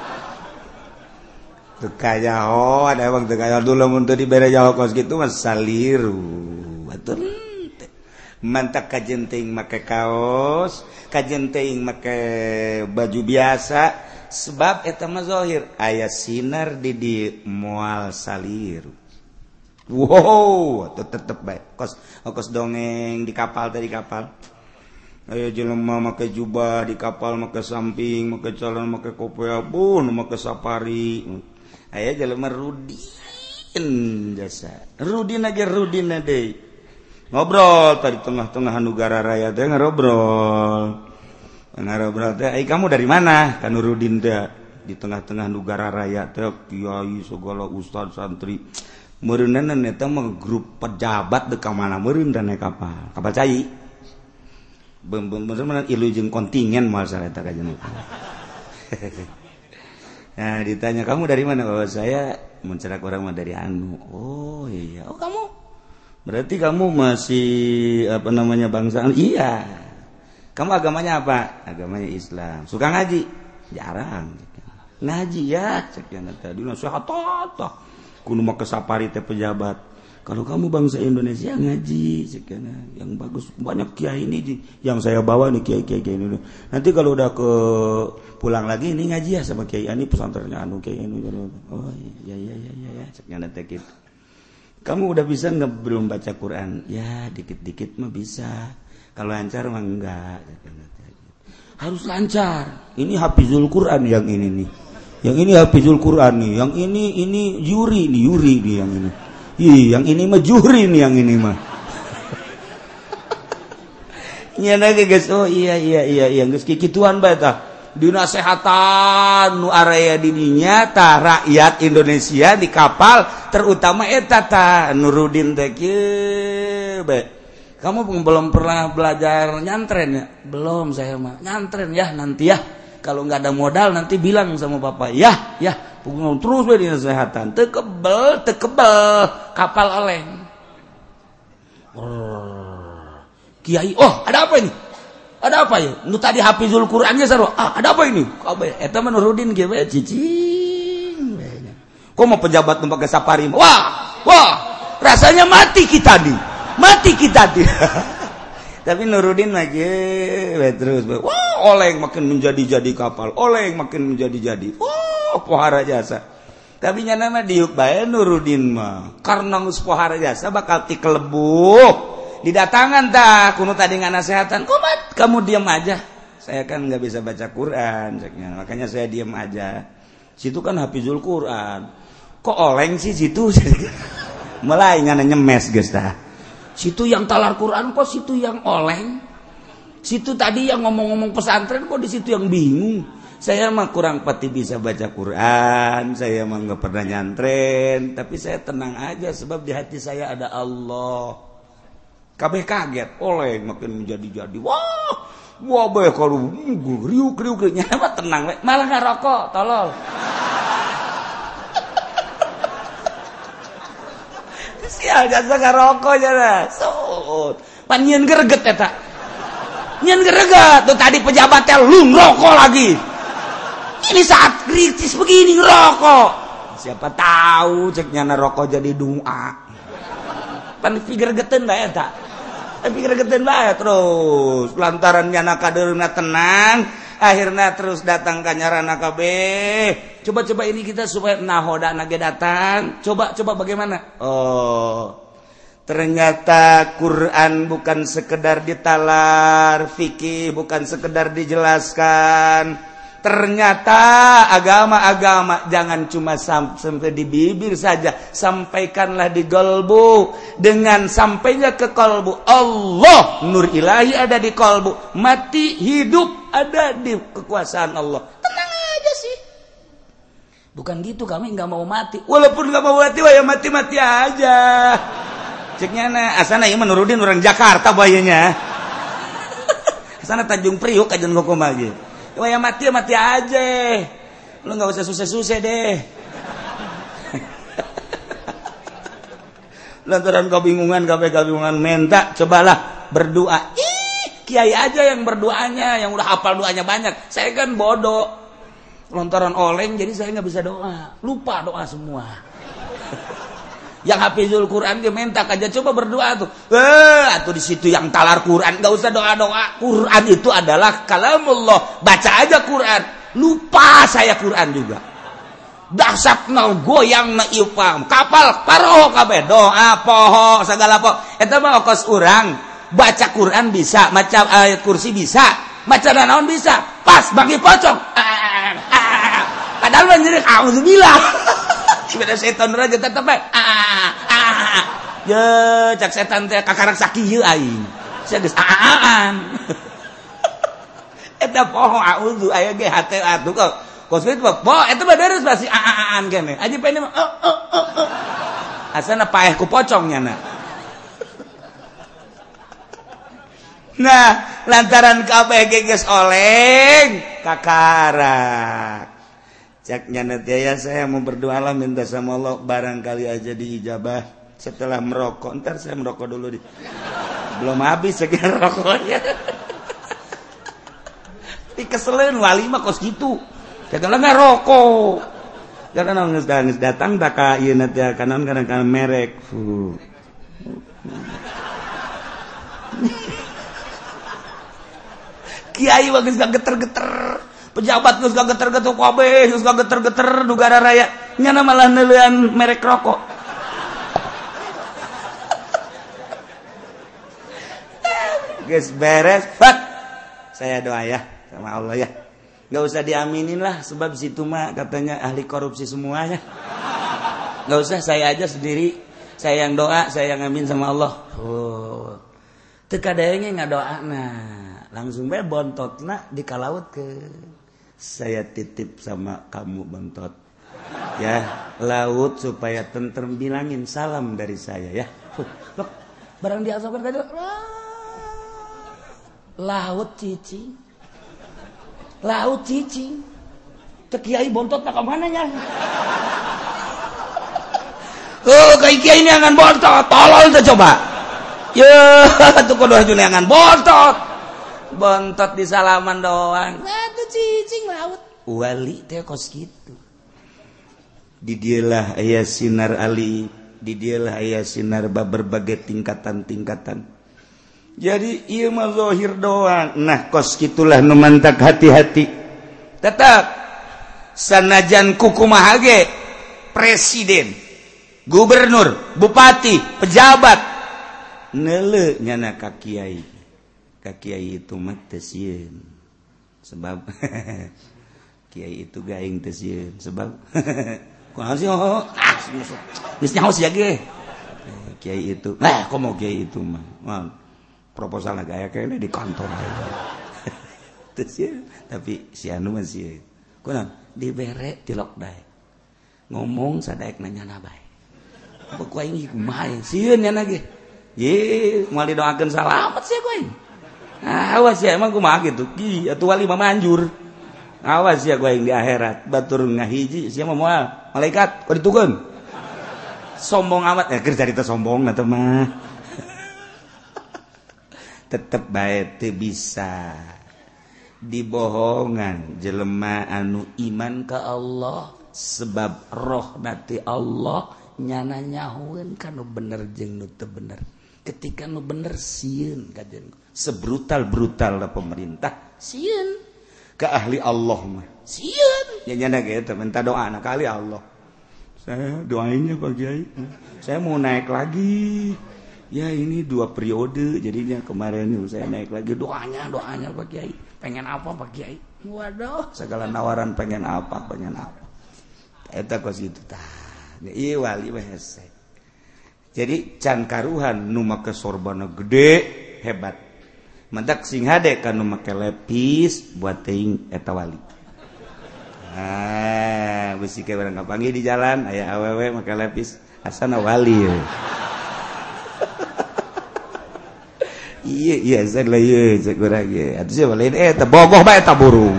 Teu kanyahoan emang teu kanyahoan dulu mun teu dibere jaho kos kitu mah saliru. Batur. Mantak kajen teuing make kaos, kajen teuing make baju biasa. Sebab eta mah zahir aya sinar di di moal saliru. Wow, tetep bae. Kos kos dongeng di kapal tadi kapal. Aya jelema make jubah di kapal, make samping, make celana, make kopea, bun, make safari. Aya jelema rudin jasa. Rudin aja rudin deui. Ngobrol tadi tengah-tengah negara raya teh ngobrol. Ngobrol teh, "Eh kamu dari mana?" Ka Nurudin teh di tengah-tengah negara raya teh kiai segala ustaz santri. Meureunna eta mah grup pejabat teu ka mana meureun dan naik kapal. Kapal cai. Bener-bener ilu jeung kontingen moal sareta ka jeung. Nah, ditanya, "Kamu dari mana?" "Oh, saya mencerak orang mah dari anu." "Oh, iya. Oh, kamu berarti kamu masih apa namanya bangsa?" "Iya." "Kamu agamanya apa?" "Agamanya Islam." "Suka ngaji?" "Jarang." "Ngaji ya?" Cek yana tadi nasihat tah. Kudu make sapari teh pejabat. Kalau kamu bangsa Indonesia ngaji, sekian yang bagus banyak kiai ini yang saya bawa nih kiai-kiai ini. Nanti kalau udah ke pulang lagi ini ngaji ya sama kiai ini pesantrennya anu kiai ini. Oh iya iya iya iya ya, sekian nanti gitu. Kamu udah bisa nggak belum baca Quran? Ya dikit-dikit mah bisa. Kalau lancar mah enggak. Harus lancar. Ini hafizul Quran yang ini nih. Yang ini hafizul Quran nih. Yang ini ini Yuri nih Yuri nih yang ini. Ih, yang ini mah juri nih yang ini mah. Nya lagi guys. Oh iya iya iya iya geus kikituan bae tah. Dina sehatan nu area didinya tah rakyat Indonesia di kapal terutama eta tah Nurudin teh kieu bae. Kamu belum pernah belajar nyantren ya? Belum saya mah. Nyantren ya nanti ya. Kalau nggak ada modal nanti bilang sama bapak ya ya terus di kesehatan tekebel tekebel kapal oleng kiai oh ada apa ini ada apa ya nu tadi hafizul Qurannya saru ah ada apa ini eta mah Nurudin ge we cicing kok mau pejabat nu pakai safari wah wah rasanya mati kita nih mati kita nih tapi Nurudin lagi terus wah oleng makin menjadi-jadi kapal oleng makin menjadi-jadi oh pohara jasa tapi nyana mah diuk bae Nurudin mah karena geus pohara jasa bakal ti kelebuk didatangan tah kuno tadi nganasehatan kumat kamu diam aja saya kan nggak bisa baca Quran makanya saya diam aja situ kan hafizul Quran kok oleng sih situ mulai ngana nyemes geus tah situ yang talar Quran kok situ yang oleng situ tadi yang ngomong-ngomong pesantren kok di situ yang bingung saya mah kurang pati bisa baca Quran saya mah nggak pernah nyantren tapi saya tenang aja sebab di hati saya ada Allah kabeh kaget oleng makin menjadi-jadi wah wah bae kalau riuk-riuk nyana mah tenang malah ngarokok tolol sial jasa ngarokok jana sot pan nyeun greget eta nyeun greget tuh tadi pejabat teh lu ngerokok lagi ini saat kritis begini ngerokok siapa tahu cek nyana rokok jadi doa pan pigergeteun bae eta pigergeteun bae terus lantaran nyana kadeurna tenang akhirnya terus datang ka nyarana kabeh coba-coba ini kita supaya nahoda nage datang coba-coba bagaimana oh ternyata Quran bukan sekedar ditalar fikih bukan sekedar dijelaskan ternyata agama-agama jangan cuma sampai di bibir saja sampaikanlah di kalbu dengan sampainya ke kalbu Allah nur ilahi ada di kalbu mati hidup ada di kekuasaan Allah tenang aja sih bukan gitu kami nggak mau mati walaupun nggak mau mati wah ya mati-mati aja ceknya na asana ieu Nurudin orang Jakarta bayanya asana Tanjung Priok kajian ngokom lagi wah ya mati ya mati aja lu nggak usah susah-susah deh lantaran kebingungan kabeh kebingungan minta cobalah berdoa ih kiai aja yang berdoanya yang udah hafal doanya banyak saya kan bodoh lantaran oleng jadi saya nggak bisa doa lupa doa semua yang hafizul Quran dia minta aja coba berdoa tuh eh atau di situ yang talar Quran nggak usah doa doa Quran itu adalah kalamullah baca aja Quran lupa saya Quran juga dahsyat na goyang na iupam kapal paroho kabeh doa poho segala poho eta mah ongkos urang baca Quran bisa maca ayat kursi bisa maca naon bisa pas bagi pocong padahal manjir auzubillah cibada setan raja tetep bae ah ah ye cak setan teh kakarak sakieu aing sia geus aan eta poho auzu aya ge hate atuh kok kosbit mah po eta mah deres basi aan kene aji pene mah oh oh oh asana paeh ku pocong nya na nah lantaran kabeh geus oleng kakarak caknya nanti ya saya mau berdoa lah minta sama Allah barangkali aja diijabah setelah merokok ntar saya merokok dulu di belum habis sekian rokoknya dikeselin wali mah kos gitu jangan nggak rokok karena nangis nangis datang tak kaya nanti kanan kanan kanan merek fuh Kiai mah geus geter-geter, pejabat geus geter-geter kabeh, geus geter-geter negara raya, nyana malah neuleuan merek rokok. Geus beres, fat. Saya doa ya sama Allah ya. Enggak usah diaminin lah sebab situ mah katanya ahli korupsi semuanya. Enggak usah, saya aja sendiri. Saya yang doa, saya yang amin sama Allah. Oh. Teu kadayeunya ngadoana. Langsung bae bontotna dikalaut ke. Saya titip sama kamu bontot. Ya, laut supaya tentrem, bilangin salam dari saya ya. Loh, barang diasokan ka laut cicing, laut cicing, teu kiai bontot nak kemana nya? Oh, kai kiai neangan bontot, tolol teh coba. Ya, tuh kudu haju neangan bontot, bontot di salaman doang. Nah, tuh cicing laut. Wali teh kos kitu. Di dieulah aya sinar ali, di dieulah aya sinar berbagai tingkatan-tingkatan. Jadi ieu mah zahir doang. Nah, kos kitulah nu mantak hati-hati. Tetap sanajan kukumaha ge presiden, gubernur, bupati, pejabat neuleuh nyana ka kiai. Ka kiai itu mah teu sieun. Sebab kiai itu gaing teu sieun. Sebab kunaon sih oh, ah geus nyaho sia ge. Kiai itu, nah komo kiai itu mah. Proposal gaya kayaknya di kantor terus ya, tapi si anu masih kuna dibere tilok dae ngomong sadaek nanya nabai pokok aing kumaha sieun nya ge ye moal didoakeun salamet sih kuing awas ya emang kumaha kitu ki atuh wali mah manjur awas ya kuing di akhirat batur ngahiji sia mah moal malaikat kok ditukeun sombong amat ya keur carita sombong na teh mah tetep bae teu bisa dibohongan jelema anu iman ka Allah sebab roh nati Allah nyana nyahueun kanu bener jeung nu teu bener. Ketika nu bener sieun kajen sebrutal-brutal pemerintah sieun ka ahli Allah mah sieun nya nyana ge teh minta doa na ka ahli Allah. Saya doainnya Pak Kiai, saya mau naik lagi. Ya ini dua periode jadinya kemarin saya naik lagi doanya doanya Pak Kiai pengen apa Pak Kiai waduh segala nawaran pengen apa pengen apa eta kos itu tah ieu wali we hese jadi can karuhan nu make sorbana gede hebat mentak sing hade kan nu make lepis buat teuing eta wali ah bisi ke barang kapanggih di jalan aya awewe make lepis asana wali ya. Iya iya saya lah iya saya kurang iya atau siapa lain eh terbogoh bae tak burung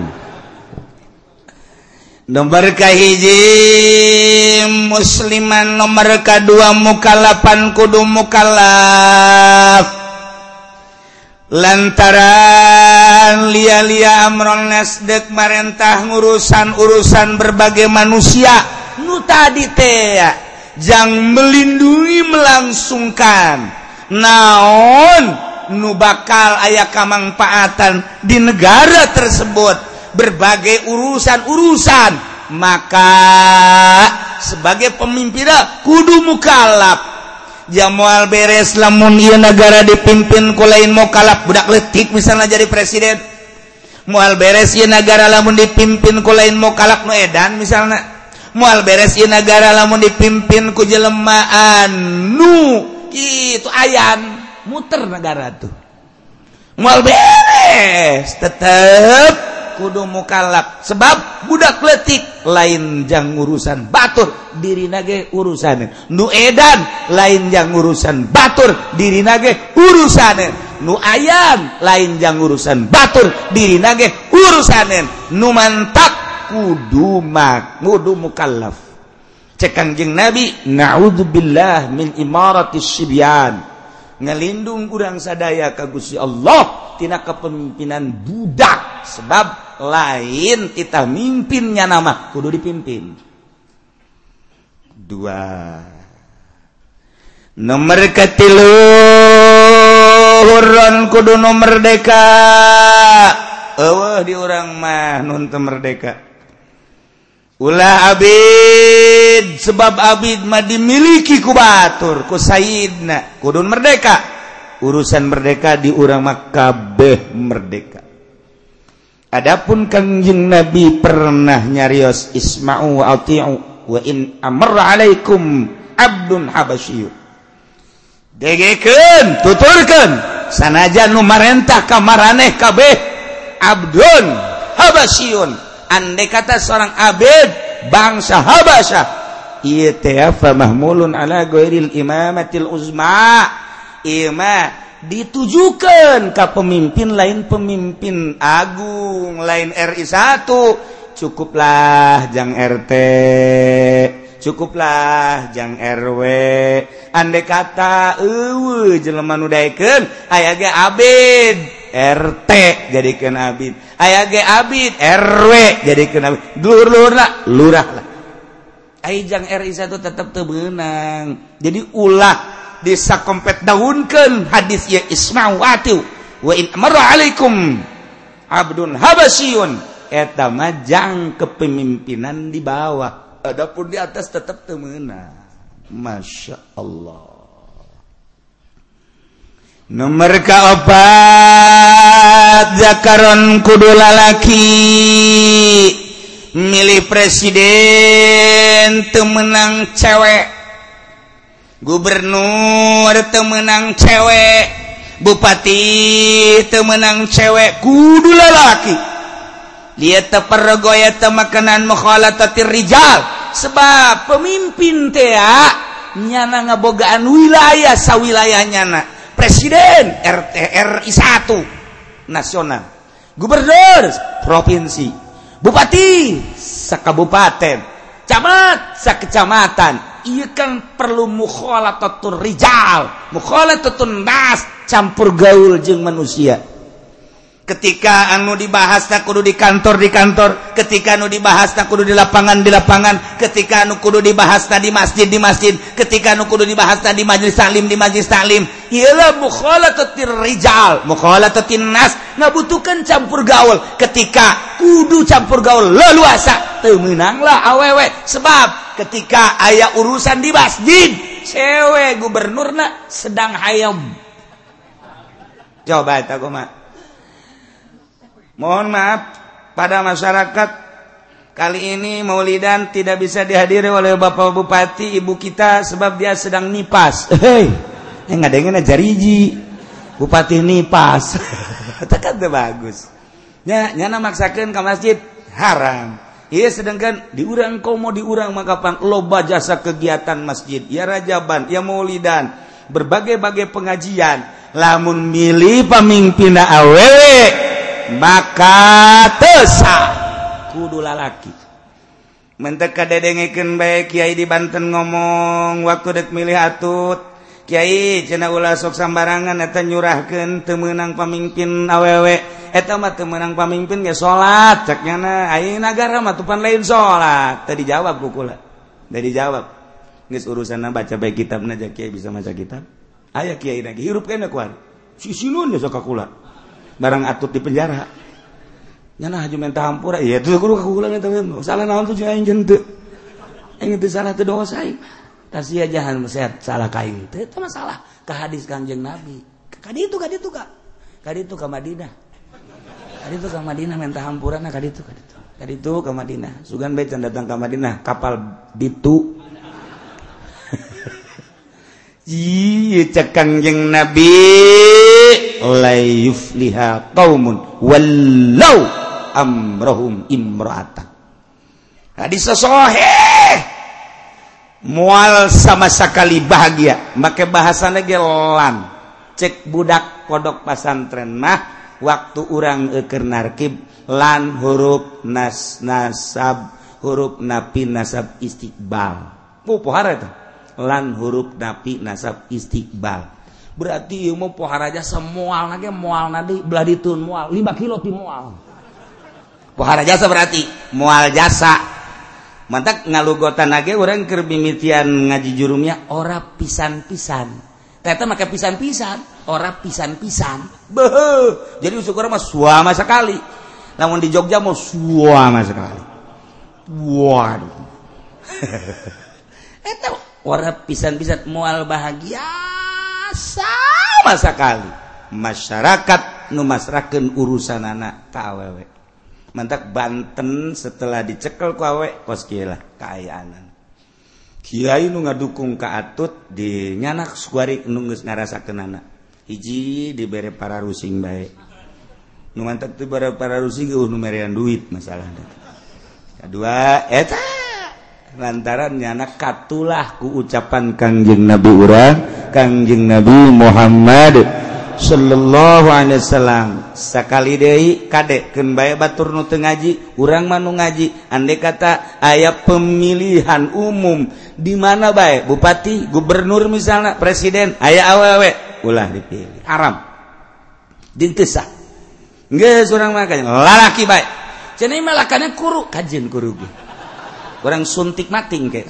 nomor kahiji musliman nomor kedua mukallafan kudu mukallaf lantaran lia-lia amron nasdek marentah ngurusan-urusan berbagai manusia nu tadi teh jang melindungi melangsungkan naon nu bakal aya kamangpaatan di negara tersebut berbagai urusan-urusan maka sebagai pemimpin kudu mukallaf jamual beres lamun ieu negara dipimpin ku lain mukallaf budak leutik misalnya jadi presiden moal beres ieu negara lamun dipimpin ku lain mukallaf nu edan misalnya moal beres ieu negara lamun dipimpin ku jelema anu kitu ayan muter negara tuh moal beres tetep kudu mukallaf sebab budak leutik lain jang urusan batur dirina ge urusan nu edan lain jang urusan batur dirina ge urusan nu ayan lain jang urusan batur dirina ge urusan nu mantak kudu mak kudu mukallaf cek Kangjeng Nabi naudzubillah min imaratis sibyan ngelindung kurang sadaya ka Gusti Allah tina kepemimpinan budak sebab lain kita mimpinnya nama kudu dipimpin dua Nomor katilu huron kudu nu merdeka. Eueuh di urang mah nun teu merdeka. Ulah abid sebab abid mah dimiliki ku batur ku sayyidna kudu merdeka. Urusan merdeka di urang mah kabeh merdeka. Adapun Kangjeng Nabi pernah nyarios isma'u wa ati'u wa in amarra alaikum abdun habasyiy. Degekeun, tuturkeun sanajan nu marentah ka maraneh kabeh abdun habasyun. Andai kata seorang abid bangsa Habasyah, ieu teh fa mahmulun ala ghairil imamatil uzma. Ieu mah ditujukeun ka pemimpin lain pemimpin agung, lain R I satu. Cukuplah jang R T, cukuplah jang R W. Andai kata eueuh jelema nu daekeun aya ge abid R T jadikeun abid, aya ge abid R W jadikeun abid, lur-lurna lurah lah. Ai jang R I satu tetep teu beunang. Jadi ulah disakompet daunkeun hadis ieu isma'u atiu wa in amara alaikum abdun habasyun. Eta mah jang kepemimpinan di bawah, adapun di atas tetap teu meunang. Masya Allah. Nomor kaopat zakaron kudu lalaki milih presiden teu meunang cewek, gubernur teu meunang cewek, bupati teu meunang cewek, kudu lalaki. Dia tepergoya temakanan mukhalatatir rijal, sebab pemimpin teh nyana ngabogaan wilayah sawilayahnya na. Presiden R T R I satu nasional, gubernur provinsi, bupati sakabupaten, camat sakecamatan. Ieu kan perlu mukhalatatur rijal, mukhalatatun nas, campur gaul jeung manusia. Ketika anu dibahas tak kudu di kantor di kantor, ketika anu dibahas tak kudu di lapangan di lapangan, ketika anu kudu dibahas tak di masjid di masjid, ketika anu kudu dibahas tak di majelis taklim di majelis taklim. Ialah mukhalatatir rijal, mukhalatatin nas, ngabutuhkeun campur gaul. Ketika kudu campur gaul leluasa, teu meunanglah awewe. Sebab ketika aya urusan di masjid, cewek gubernurna sedang hayam. Coba eta kumaha? Mohon maaf pada masyarakat, kali ini Maulidan tidak bisa dihadiri oleh Bapak Bupati Ibu kita sebab dia sedang nipas. Hei, yang ngadengin aja riji Bupati nipas. Tekan teh bagus. Nya nyana maksakeun ka masjid haram. Ieu sedangkan di urang komo di urang makapan loba jasa kegiatan masjid, ya rajaban, ya Maulidan, berbagai-bagai pengajian. Lamun milih pamimpinna awewe maka tesa kudu lalaki. Mentek kadedengekeun bae Kiai di Banten ngomong waktu dek milih atut, Kiai cenah ulah sok sambarangan eta nyurahkeun teu meunang pamimpin awewe. Eta mah teu meunang pamimpin ge salat cek nyana. Ai nagara mah tupan lain salat. Teu dijawab ku kula. Teu dijawab. Geus urusanna baca bae kitabna aja Kiai bisa maca kitab. Aya Kiai lagi hirup kene ku ari. Sisilun ge sok ka kula. Barang atut di penjara nyana haju mentah hampura iya itu kudu kakulang eta mah salah naon tuh aing jeung teu aing teu salah teu dosa aing tasih ajahan meset salah ka aing teu eta masalah ka hadis Kangjeng Nabi ka ditu ka ditu ka ka ditu ka Madinah ka ditu ka Madinah mentah hampurana ka ditu ka ditu ka ditu ka Madinah sugan bae can datang ka Madinah kapal bitu Iya cek Kangjeng Nabi la yufliha qaumun wallau amrohum imra'atan. Hadis sahih moal sama sekali bahagia make bahasana ge lan. Cek budak kodok pasantren mah waktu urang keur narkib lan huruf nas nasab huruf napi nasab istiqbal. Pu pohara eta. Lan huruf napi nasab istiqbal. Berarti ieu mah pohara jasa moal na ge moal na deui belah ditun moal lima kilo ti moal. Pohara jasa berarti moal jasa mantak ngalugotan age urang keur mimitian ngaji jurumnya ora pisan-pisan. Ternyata make pisan-pisan, ora pisan-pisan. Beuh. Jadi usukur mah suama sekali. Namun di Jogja mau suama sekali. Waduh. Eta ora pisan-pisan moal bahagia sama sekali. Masyarakat nu masrakeun urusanana ka awewe. Mantak Banten setelah dicekel ku awewe kos kieu lah kaayaanan. Kiai nu ngadukung ka Atut di nyanak suari nu geus ngarasakeunana. Hiji dibere para rusing bae. Nu mantak teu bara para rusing geus nu merean duit masalahna. Kedua eta lantaran nyanak katulah ku ucapan Kangjeng Nabi urang, Kangjeng Nabi Muhammad sallallahu alaihi wasallam. Sakali deui kadekeun bae batur nu teu ngaji, urang mah nu ngaji. Andai kata aya pemilihan umum di mana bae, bupati, gubernur misalna, presiden, aya awewe, ulah dipilih. Haram. Dieu teu sah. Geus urang mah lalaki bae. Cenah mah lakana kuru, kajeun kuru ge. Urang suntik mating ke.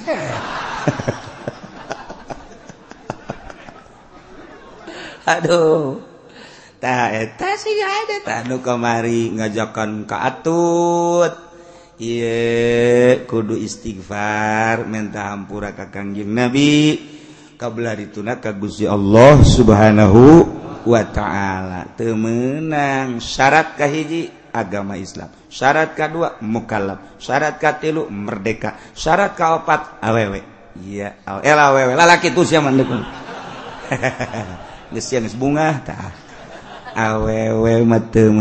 Aduh. Tah eta sih ada tah nu kamari ngajakan ka Atut. Ieu kudu istighfar minta hampura ka Kangjeng Nabi kabularituna ka Gusti Allah Subhanahu wa taala. Teu meunang syarat kahiji agama Islam, syarat kadua mukallaf, syarat katilu merdeka, syarat kaopat awewe. Iya, el awewe lalaki tu sia mandekun. Geus sia geus bunga tah. Awewe mah teu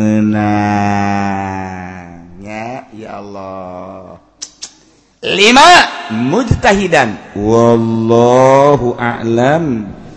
meunang. Ya, ya Allah. Lima mujtahidan. Wallahu a'lam.